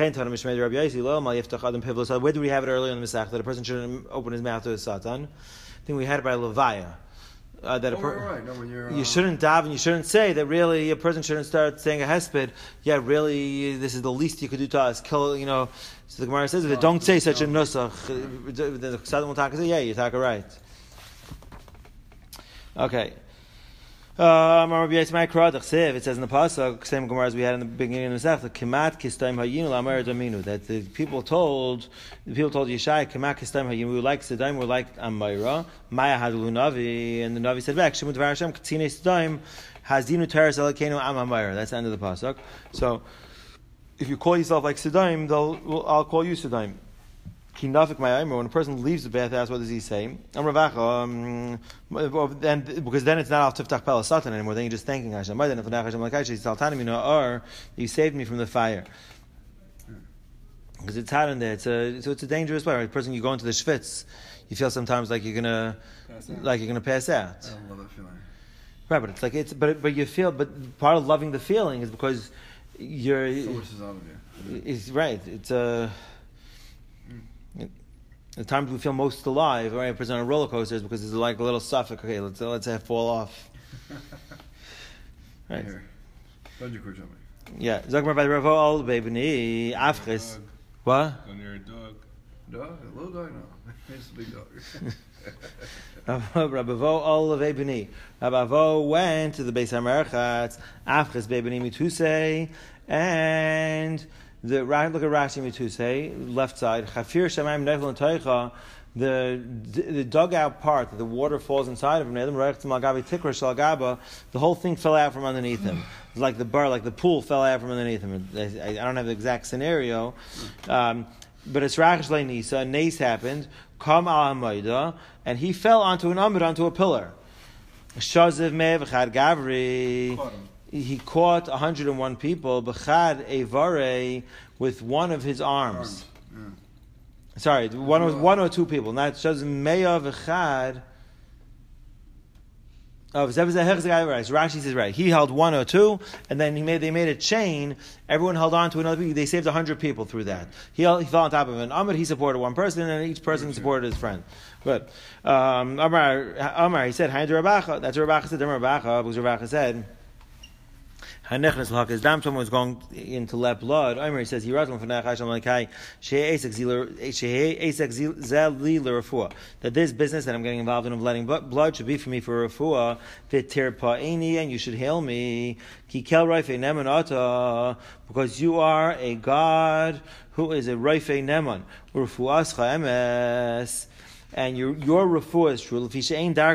Where do we have it earlier in the Masechta? That a person shouldn't open his mouth to a satan. I think we had it by Levaya. Uh, that a per- oh, right. No, when you're, uh, you shouldn't daven. You shouldn't say that. Really, a person shouldn't start saying a hesped. Yeah, really, this is the least you could do to us. Kill, you know. So the Gemara says, if it don't say such a nusach, the Chassadim will talk and say, yeah, you talk right. Okay. Um, it says in the pasuk, same Gemara as we had in the beginning of the Masechta, Kemat Kistaim Hayinu Lamer Dominu, that the people told the people told Yeshai, Kemat Kistaim Hayinu, we were like Sedaim, we were like Amira, Maya Hadulu Navi, and the Navi said back, Shemut Var Hashem Katzine Sedaim Hazinu Teres Elakenu Am Amira. That's the end of the pasuk. So if you call yourself like Sedaim, they'll well, I'll call you Sedaim. When a person leaves the bathhouse, what does he say? Um, and because then it's not al tiftach pel satan anymore. Then you're just thanking Hashem. Or you saved me from the fire. Because it's hot in there. It's a so it's a dangerous way. Right? A person, you go into the shvitz, you feel sometimes like you're gonna like you're gonna pass out. I love that feeling. Right, but it's like it's but but you feel but part of loving the feeling is because you're. So much is out of you. It's right. It's a. Uh, the times we feel most alive, right? A person on a roller coaster is because it's like a little suffix. Okay, let's let's have fall off. Right. Here. Don't you quit jumping. Yeah. Zogmar by the Ravo all baby Afris. What? When you're a dog. Dog? A little dog? No. It's a big dog. Rabavo all of Ebony. Rabavo went to the Beis HaMerchatz. Afris Bebeni Mituse and. The right, look at Rashi Mituse, left side. Chafir Shemaim Nefel Toicha. The the dugout part, the water falls inside of him. The whole thing fell out from underneath him. It's like the bar, like the pool fell out from underneath him. I, I don't have the exact scenario, um, but it's Rash Nisa. Nace happened. Kam al Hamayda, and he fell onto an amud, onto a pillar. Shaziv Mev Chad Gavri. He caught one hundred one people, b'chad evare, with one of his arms. arms. Yeah. Sorry, one was one or two people. Not shazim meya v'chad. Oh, so Rashi says right. He held one or two, and then he made they made a chain. Everyone held on to another. They saved a hundred people through that. He, he fell on top of an Amud. He supported one person, and each person supported his friend. Good. Um, Amar, Amar, he said, "Hi to Rabacha." That's what Rabacha said. Rabacha, because Rabacha said, "Hanechnas l'hakas dam." Someone was going in to let blood. Amar, he says, "He wrote from Nechai Shalom Lekai Shei Esek Zeli L'Rafua." That this business that I'm getting involved in of letting blood should be for me for Rafua. V'tir Pa'ini, and you should hail me. Ki Kel Raifei Neman Ata, because you are a God who is a Raifei Neman. Rafuascha Emes. And your your refuah is true. Because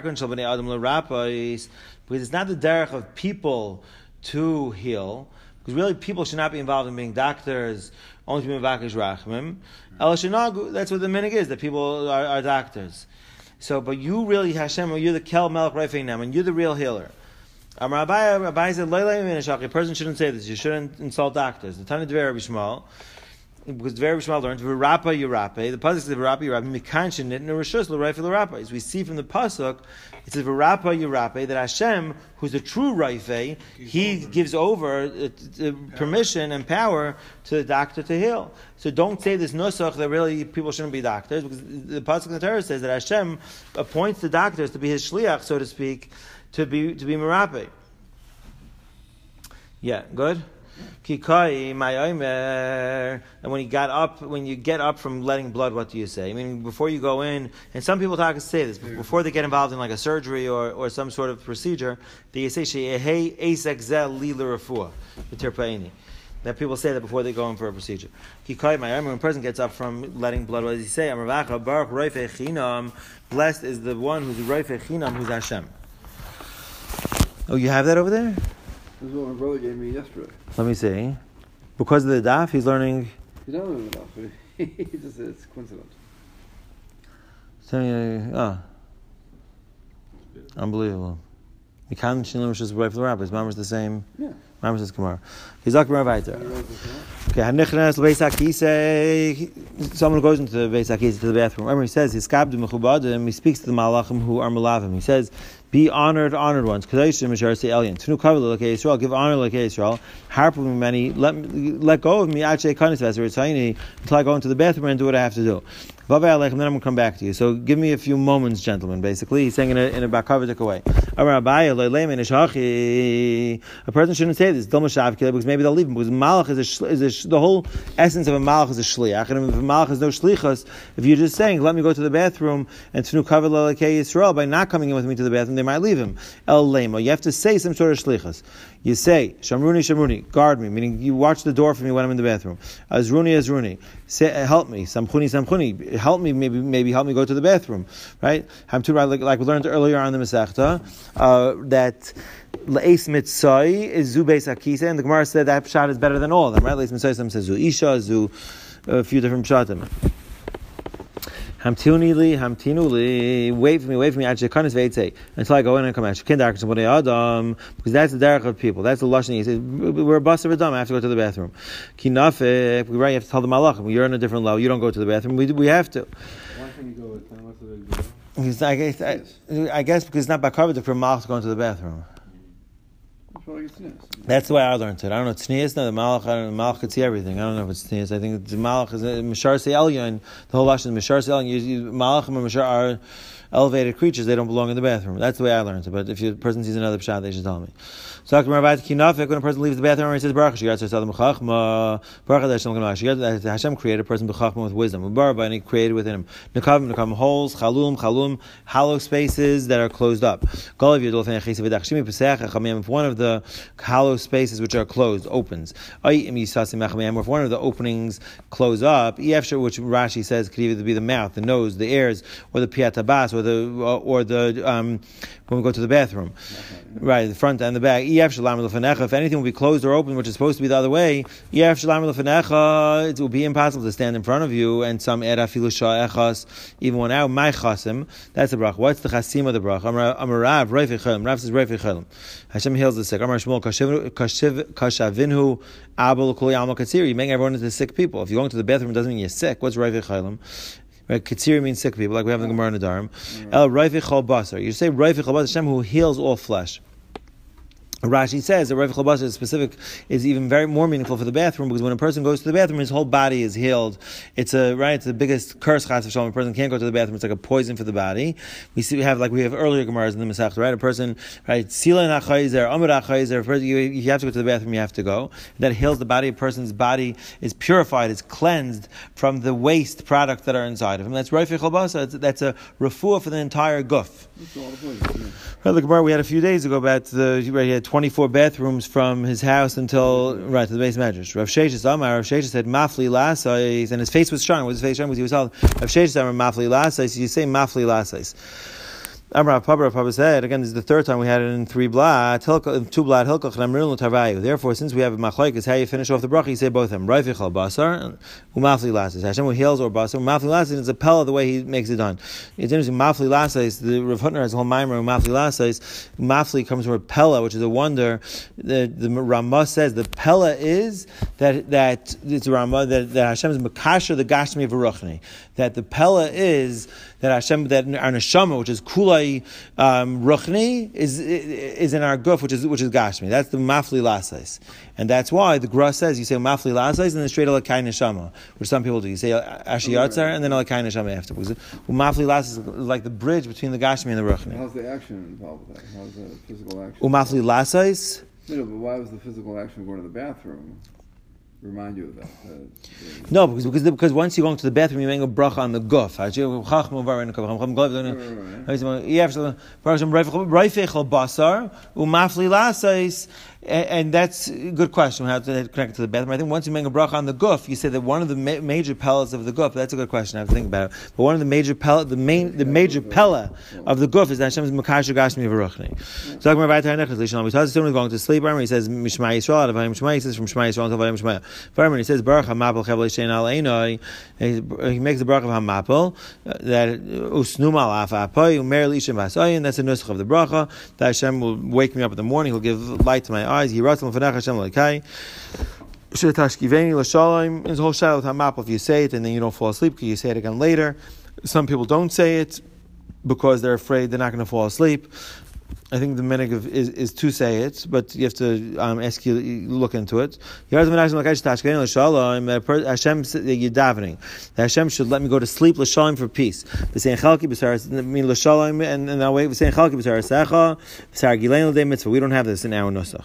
it's not the derech of people to heal. Because really, people should not be involved in being doctors. Only to be mevakesh rachmim. That's what the minig is. That people are, are doctors. So, but you really Hashem, you're the kel melech reifei neman. You're the real healer. Amar Abaye, Abaye said, a person shouldn't say this. You shouldn't insult doctors. The Tana Dvei Rabbi Shmuel. Because the very Shmuel learns V'rapa Yirape. The pasuk says V'rapa Yirape. Mikanshin it in a rishus l'rayfe l'rapa. As we see from the pasuk, it says V'rapa Yirape that Hashem, who's the true rayfe, He gives over uh, uh, permission and power to the doctor to heal. So don't say this nusach that really people shouldn't be doctors, because the pasuk in the Torah says that Hashem appoints the doctors to be His shliach, so to speak, to be to be merape. Yeah, good. Kikai my omer, and when he got up, when you get up from letting blood, what do you say? I mean, before you go in, and some people talk say this before they get involved in like a surgery or, or some sort of procedure. They say hey esek li l'rafua v'terpaini. That people say that before they go in for a procedure. Kikai my omer, when a person gets up from letting blood, what does he say? Amar baruch roifei chinam. Blessed is the one who's roifei chinam, who's Hashem. Oh, you have that over there? This is what my brother gave me yesterday. Let me see. Because of the daf, he's learning. He's not learning the daf. He just says it's coincidence. So, oh. Unbelievable. You can't Shinlim Rishus B'Rayf L'Rabbis. Mama's the same. Yeah. Mama's the Gemara. He's like Gemara Vayter. Okay. Hanichnas L'Beis HaKisei. Someone goes into the Beis HaKisei to the bathroom. Remember, he says, "He's kabdu mechubadim." He speaks to the malachim who are malavim. He says, "Be honored, honored ones." Kadeshim Misharsi Elyon. Tunu Kavod L'Kei Yisrael. Give honor L'Kei Yisrael. Harp with me many. Let let go of me. Achei Kanis Veser Tzayini until I go into the bathroom and do what I have to do. Vavei Aleichem. Then I'm going to come back to you. So give me a few moments, gentlemen. Basically, he's saying in a in a bakavidik way. Amar Abaye Leileimen Ishachi. A person shouldn't say this. Because maybe they'll leave him. Because malach is a, sh- is a sh- the whole essence of a malach is a shliach, and if a malach is no shlichus, if you're just saying, "Let me go to the bathroom," and tnu kavod l'Elokei Yisrael, by not coming in with me to the bathroom, they might leave him. El lema. You have to say some sort of shlichus. You say, "Shamruni, Shamruni, guard me," meaning you watch the door for me when I'm in the bathroom. Azruni, Azruni, say, help me. Samchuni, Samchuni, help me. Maybe, maybe help me go to the bathroom. Right? Like, like we learned earlier on the Masechta, uh, that. Le'es mitzai is zu beis hakisa, and the Gemara said that pshat is better than all of them, right? Le'es mitzai, some says zu isha, zu a few different pshatim. Hamtuni li, hamtinu li, wait for me, wait for me, until I go in and come out. Adam, because that's the derech of people. That's the lashon. He says, we're a bus of a dumb. I have to go to the bathroom. Kinafik, right? You have to tell the malachim. You're in a different level. You don't go to the bathroom. We we have to. Why can't you go with them? What's the big deal? Because I guess, I, I guess because it's not bakavidik for malach to go into the bathroom. That's the way I learned it. I don't know. Tznius, no, the malach, I don't know, the malach could see everything. I don't know if it's tznius. I think the malach is mishar se elyon. The whole lashon is mishar se elyon. Malachim and mishar are elevated creatures. They don't belong in the bathroom. That's the way I learned it. But if a person sees another pshat, they should tell me. So when a person leaves the bathroom, he says, Baruch Hashem created a person with wisdom. And he created within him nekavim, nekavim holes, chalum, chalum, hollow spaces that are closed up. If one of the hollow spaces which are closed opens, or if one of the openings close up, which Rashi says could either be the mouth, the nose, the ears, or the piatabas, or the or the um, when we go to the bathroom, right, the front and the back. If anything will be closed or open, which is supposed to be the other way, it will be impossible to stand in front of you. And some even one out, my chasim. That's the bracha. What's the chasim of the bracha? Amar Rav, Reifei Chelim. Rav says Reifei Chelim. Hashem heals the sick. Amar Shmuel, kashavinhu abel kol yalma katzir. You make everyone into sick people. If you're going to the bathroom, it doesn't mean you're sick. What's Reifei Chelim? Right? Katsiri means sick people, like we have in the Gemara in the Dharm. El Raifich Chol Basar. You say Raifich Chol Basar, Hashem who heals all flesh. Rashi says that Rav Chalbasa is specific is even very more meaningful for the bathroom, because when a person goes to the bathroom, his whole body is healed. It's a right. It's the biggest curse. Chas v'shalom. A person can't go to the bathroom. It's like a poison for the body. We see we have like we have earlier Gemaras in the Masechta, right? A person right silan achayzer, amud achayzer. A person you, you have to go to the bathroom. You have to go. That heals the body. A person's body is purified, is cleansed from the waste products that are inside of him. That's Rav Chalbasa. That's a refuah for the entire guf. Right, the Gemara we had a few days ago about the right, he had twenty-four bathrooms from his house until right to the base measures. Rav Sheshes Amar, Rav Sheshes said mafli lasais, and his face was strong. Was his face strong? Was he was all Rav Sheshes Amar mafli lasais? You say mafli lasais. Amar Papa Papa said again. This is the third time we had it in three blad, two blad hilkoch namrul tarvayu. Therefore, since we have a machlokes, how you finish off the bracha, you say both of them. Raifich al basar, umafli lasais. Hashem who heals or basar. Umafli lasais is a pella the way he makes it done. It's interesting. Mafli lasais. The Rav Hutner has a whole mimer. Umafli lasais. Mafli comes from a pella, which is a wonder. The the Ramah says the pella is that that it's a Ramah that, that Hashem is makasher the gashmi of ruchni. That the pella is that Hashem, that our neshama, which is kulai um, ruchni, is is in our guf, which is which is gashmi. That's the mafli lasais, and that's why the Gra says you say mafli lasais and then straight alakai neshama, which some people do. You say ashiyatzar and then alakai neshama after. Because mafli lasais is like the bridge between the gashmi and the ruchni. How's the action involved with that? How's the physical action? Umafli lasais. No, but why was the physical action of going to the bathroom? Remind you of that. Uh, the, no, because because because once you go into the bathroom, you make a bracha on the guf. You have to raifich al basar umafli lasais. And that's a good question, how to connect it to the bathroom. I think once you make a bracha on the guf, you say that one of the ma- major pellets of the guf, that's a good question, I have to think about it. But one of the major pellet, the main, the major pella of the guf is that Hashem's Makasher Gashmi V'ruchni. So talking about Vayter HaNechas, Lishon, we talk to someone going to sleep, he says, Mishma Yisrael, out of Vayim Shema, he says, from Shema Yisrael until Vayim Shema. He says, Baruch HaMapel Chevel Yishein Al Einoi, he makes the bracha of HaMapel, that Usnum Al Af Apoy, Umer Lishim Vasoyin, that's the nusach of the bracha, that Hashem will wake me up in the morning, he'll give light to my eyes. He writes on Fanach Hashem Laikai. Shetashkiveni l'shalom. His whole shadow with Hamapel. If you say it and then you don't fall asleep, because you say it again later. Some people don't say it because they're afraid they're not going to fall asleep. I think the minig is, is to say it, but you have to um, ask you look into it. Hashem you're davening. Hashem should let me go to sleep l'shalom for peace. Mean l'shalom and and that way we don't have this in our nusach.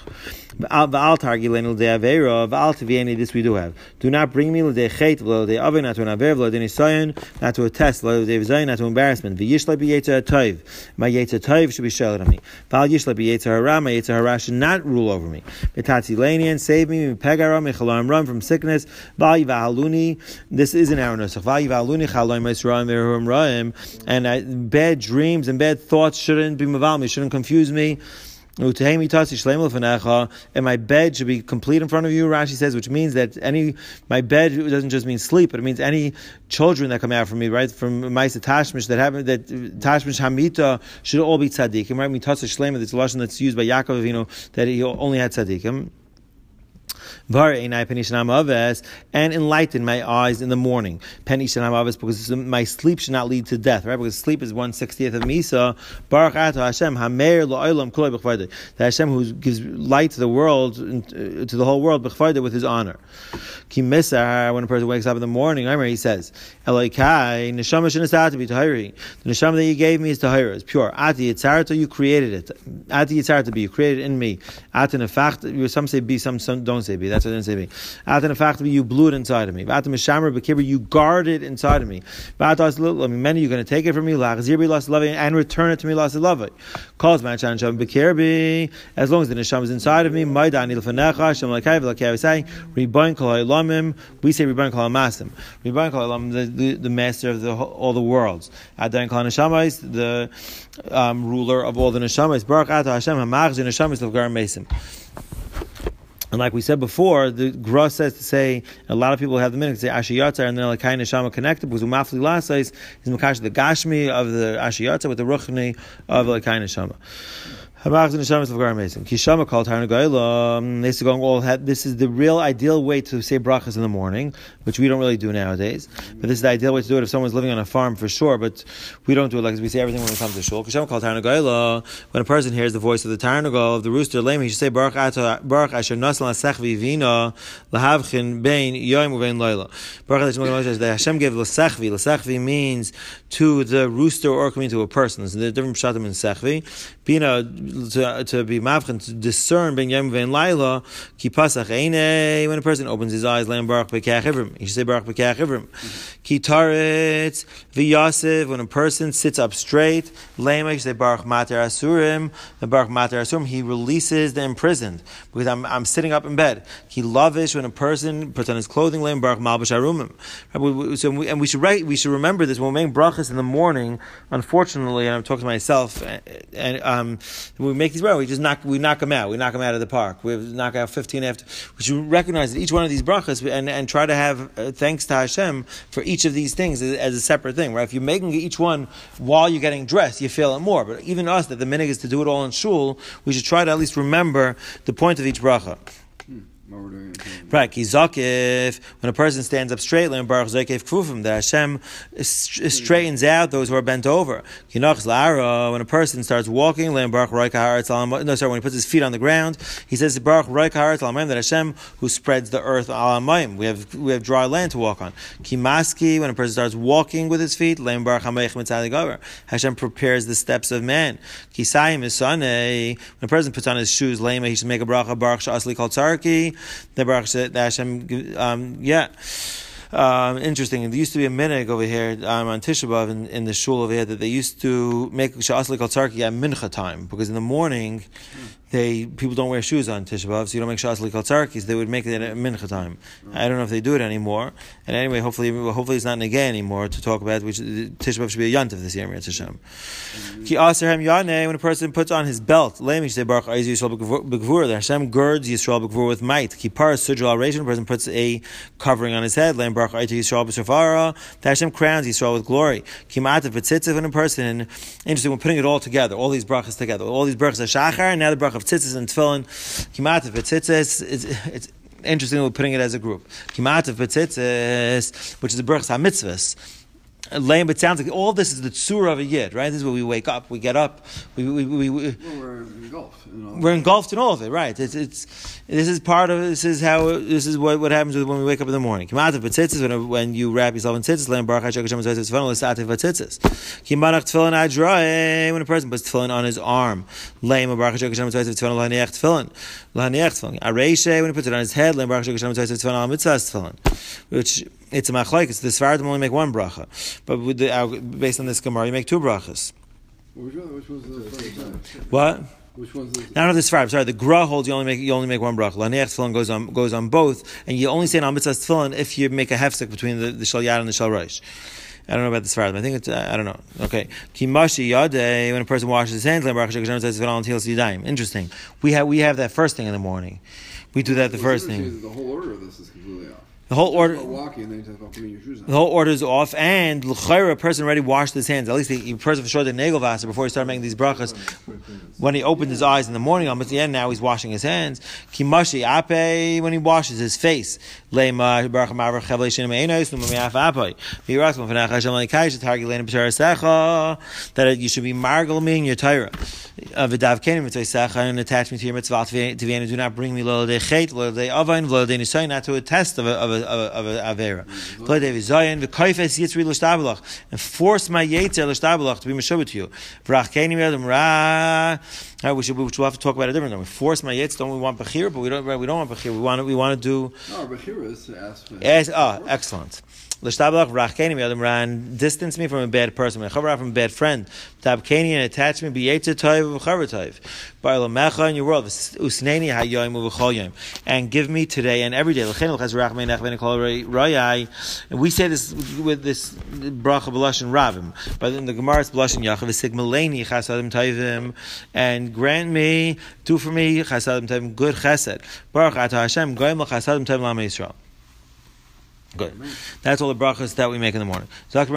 This we do have. Do not bring me l'dei chet, l'dei avin, not to an aver, l'dei nisayon, not to a test, l'dei v'zayin, not to embarrassment. V'yishlai b'yetzer tov. My yetzer tov should be sheltered on me. Val yishlai b'yetzer hara. My yetzer hara should not rule over me. B'tatzi lanian, save me. M'pegara, m'chalarim, run from sickness. Val yivahaluni. This is in our nusach. Val yivahaluni chaloim yisraim v'eruim ra'im. And uh, bad dreams and bad thoughts shouldn't be maval me. Shouldn't confuse me. And my bed should be complete in front of you, Rashi says, which means that any, my bed doesn't just mean sleep, but it means any children that come out from me, right, from Maisa Tashmish, that happen, that Tashmish Hamita should all be tzaddikim, right? Mitasa Shlema, that's a lashon that's used by Yaakov, you know, that he only had tzaddikim. And enlighten my eyes in the morning. Because my sleep should not lead to death, right? Because sleep is one sixtieth of Misa. Baruch Atah Hashem, Hameir Lo'olam Kulei B'chvayda. That Hashem who gives light to the world, to the whole world, B'chvayda, with His honor. Ki Misar, when a person wakes up in the morning, he says, Elokai, Neshama Shenasat be Tahiri. The Neshama that you gave me is Tahiri, it's pure. Ati Yitzarta, you created it. Ati Yitzarta be, you created in me. Ati Nefach, some say be, some, some don't say be. That's what I didn't say me. Atan Nefach, you blew it inside of me. Atan Mishamar B'kibur, you guard it inside of me. Atan, I mean, many, you're going to take it from me, and return it to me, calls my Shan Sham B'kirbi, as long as the Neshama is inside of me, Maidani L'fanecha, Shem L'kay, V'l'kay, we say, Riboin Kol HaOlamim, we say Riboin Kol HaMasim. Riboin Kol HaOlamim, the, the, the master of the, all the worlds. Adain Kol HaNeshamayis, the um, ruler of all the Neshamayis. Baruch Atah Hashem, HaMachz, the Neshamayis of Gar Mesim. And like we said before, the Gra says to say, a lot of people have the minute to say Ashiyatzar and then Lakai Neshama connected, because Umafli Lasais is Makash the Gashmi of the Ashiyatzar with the Ruchni of Lakai Neshama. Habach Neshamas of Gar Mason. Kishama called Tarnagayla. This is going all. This is the real ideal way to say brachas in the morning, which we don't really do nowadays. But this is the ideal way to do it if someone's living on a farm for sure. But we don't do it like we say everything when we come to shul. Kishama called Tarnagayla. When a person hears the voice of the Tarnagal of the rooster, lame, he should say Baruch Ata Baruch Asher Nasal Asechvi Vina Lahavchin Bein Yoim Uvein Laila. Baruch that Hashem gave Lasechvi. Lasechvi means to the rooster or coming to a person. There's a different pshatim in Sechvi. Bina to, to be mavchen, to discern ben yom vein laila, ki pasach einei, when a person opens his eyes, leim baruch b'keach ivrim. He should say baruch b'keach ivrim. Ki taretz v'yasiv, when a person sits up straight, leim, he should say baruch mater asurim, the baruch mater asurim, he releases the imprisoned, because I'm, I'm sitting up in bed. Ki lavish, when a person puts on his clothing, leim baruch malbash arumim. So, we, and we should write, we should remember this when we make brachas in the morning. Unfortunately, and I'm talking to myself, and, and um, we make these brachas, we just knock, we knock them out. We knock them out of the park. We knock out fifteen after. We should recognize that each one of these brachas and, and try to have uh, thanks to Hashem for each of these things as, as a separate thing, right? If you're making each one while you're getting dressed, you feel it more. But even us, that the minhag is to do it all in shul, we should try to at least remember the point of each bracha. Right, Kizakif, when a person stands up straight, Baruch Zakif Kfufim, that Hashem straightens out those who are bent over. Kinach Lara, when a person starts walking, Baruch Roika Haaretz Alamayim. No, sorry, when he puts his feet on the ground, he says Baruch Roika Haaretz Alamayim, that Hashem who spreads the earth Alamayim. We have we have dry land to walk on. Kimaski, when a person starts walking with his feet, Baruch Hameich Mitzadi Gavar. Hashem prepares the steps of man. Kisayim Isane, when a person puts on his shoes, Lema, he should make a bracha Baruch Sha'asli Kol Tzarki. The Baruch that Hashem, um, yeah. Um, interesting. There used to be a minhag over here um, on Tisha B'Av in, in the shul over here that they used to make Sha'asli Kol Tzarki at mincha time, because in the morning they people don't wear shoes on Tisha B'Av, so you don't make Sha'asli Kol Tzarkis. They would make it at mincha time. I don't know if they do it anymore. And anyway, hopefully, hopefully it's not negay anymore to talk about. Which Tisha B'Av should be a yantiv this year. Hashem. Ki aserhem yaneh, when a person puts on his belt, lame, you say Baruch Aizu Yisrael B'Gvura. The Hashem girds Yisrael B'Gvura with might. Ki paras sudral al-rishon, a person puts a covering on his head. Lame Baruch Aizu Yisrael B'Shofara. The Hashem crowns Yisrael with glory. Ki ma'atav v'tzitzis, when a person, interesting, we're putting it all together, all these brachas together, all these brachas of shachar, and now the brach of tzitzis and tefillin. Ki ma'atav v'tzitzis, it's, it's interesting we're putting it as a group. Ki ma'atav v'tzitzis, which is the brachas ha-mitzvahs. Lame, but it sounds like all this is the tzura of a yid, right? This is where we wake up, we get up, we we we, we well, we're engulfed. In all we're engulfed in all of it, right? It's it's this is part of this is how this is what, what happens when we wake up in the morning. Kimatav b'tzitzis, when when you wrap yourself in tzitzis, lame baruch Hashem Hashem tzitzis tefillin l'sativ b'tzitzis. Kimanach tefillin adroy, when a person puts tefillin on his arm, lame baruch Hashem Hashem tzitzis tefillin l'haniach tefillin l'haniach tefillin. Areishe, when he puts it on his head, lame baruch Hashem Hashem tzitzis tefillin al mitzvahs tefillin, which it's a machlokes. The Sfaradim only make one bracha, but with the, uh, based on this Gemara, you make two brachas. Which, one, which was the first time? What? Which one's the? None of the Sfaradim. Sorry, the Gra holds you only make you only make one bracha. Laniach tefillin goes on goes on both, and you only say an al mitzvahs tefillin if you make a hefsek between the, the shal yad and the shal rosh. I don't know about the Sfaradim. I think it's, uh, I don't know. Okay. Kimashi yadeh, when a person washes his hands, interesting. We have we have that first thing in the morning. We do that the first thing. The whole order of this is completely off. The whole order, walking, and then you talk about putting your shoes on. The whole order is off, and l'chayra, a person already washed his hands. At least the person for sure the nagel vasa before he started making these brachas. When he opened his eyes in the morning, almost the end now he's washing his hands. Kimashi ape, when he washes his face. Leima baruch ma'avar chavlei shenim einos nu'mamiaf ape. V'yirachim v'nach Hashem l'ikayis t'hargi leinu b'sharasecha, that you should be margal me in your Torah. V'dav kenim mitzvaysecha, and attach me to your mitzvah t'vienu. Do not bring me lo l'odei chet, lo l'odei avayin, lo l'odei nisayin, not to a test of a, of a of a avera. And force my yetzer l'shtabalach to be meshubah to you. Right, we should we should have to talk about it differently. We force my yetzer. Don't we want bechir? But we don't. We don't want bechir. We want we want to do. No, bechir is to ask for. Yes. Ah, excellent. Ran distance me from a bad person, from a bad friend. Tabkani and attach me be yetzer toiv v'chaver toiv. Ba'alamecha in your world, usneni hayoyim u'v'chol and give me today and every day. And we say this with this bracha b'lashon ravim, but in the Gemara it's b'lashon yachav v'sigmaleni chasadim toivim, and grant me, do for me chasadim toivim, good chesed. Baruch atah Hashem goyim l'chasadim toivim l'am Yisrael. Good. That's all the brachas that we make in the morning. So, a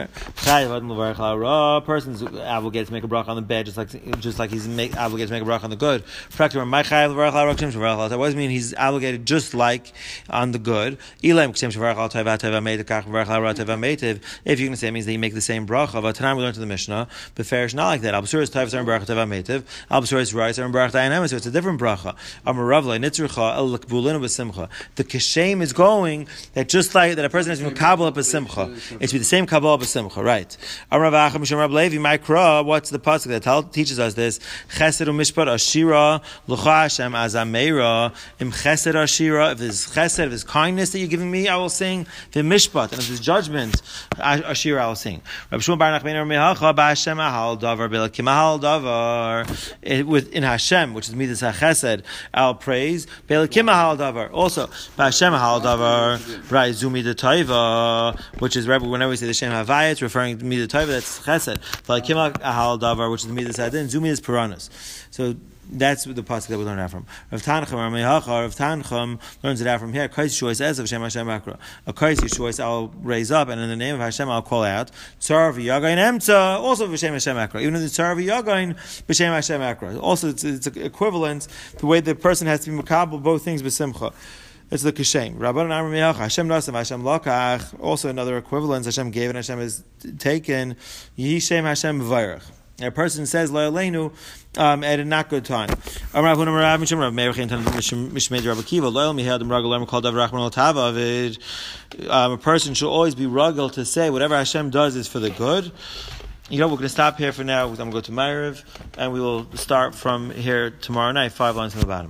person's obligated to make a bracha on the bed, just like just like he's make, obligated to make a bracha on the good. What does it mean he's obligated just like on the good? If you're going to say it means that you make the same bracha, but tonight we learned to the Mishnah, but fair is not like that. So it's a different bracha. The kishem is going that just Just like that, a person has to be kabbalah b'simcha. It's be the same kabbalah b'simcha, right? What's the pasuk that tell, teaches us this? Chesed u'mishpat ashira l'cha Hashem azameira im chesed ashira. If there's chesed, if there's kindness that you're giving me, I will sing. The mishpat, and if there's judgment, ashira, I will sing. Rabbi Shmuel bar Nachman mehacha b'Hashem ahal davar b'elakim ahal davar. Within Hashem, which is midas hachesed, I'll praise. B'elakim ahal davar. Also b'Hashem ahal davar. Right. Zumi the Taiva, which is whenever we say the Shem Havaya, it's referring to Midah Taiva, that's Chesed. Like Kimak Ahal Davar, which is the Midah Sadin, Zumi is Piranus. So that's the pasuk that we learn out from. Rav Tanchum, Rav Tanchum learns it out from here. Kaisi Shois Ez of Shem Hashem Akra. A Kaisi Shois I'll raise up, and in the name of Hashem I'll call out. Tzar v'Yagain Emtza, also v'Shem Hashem Akra. Even in the Tzar v'Yagain, v'Shem Hashem Akra. Also, it's, it's equivalent the way the person has to be makabel both things b'simcha. It's the kishem. Rabban Amar Me'ach Hashem Nasav Hashem Lakach. Also another equivalence. Hashem gave and Hashem is taken. Yishem Hashem V'Vayrach. A person says Lo Aleinu um, at a not good time. Amar Avunam Rav Mishum Rav Meir Chintan Mishmei Rav Akiva Lo Mihad Mragel Lerm Kol Dav Rachman L'Tava. A person should always be rugel to say whatever Hashem does is for the good. You know, we're going to stop here for now. I'm going to go to Ma'ariv, and we will start from here tomorrow night, five lines from the bottom.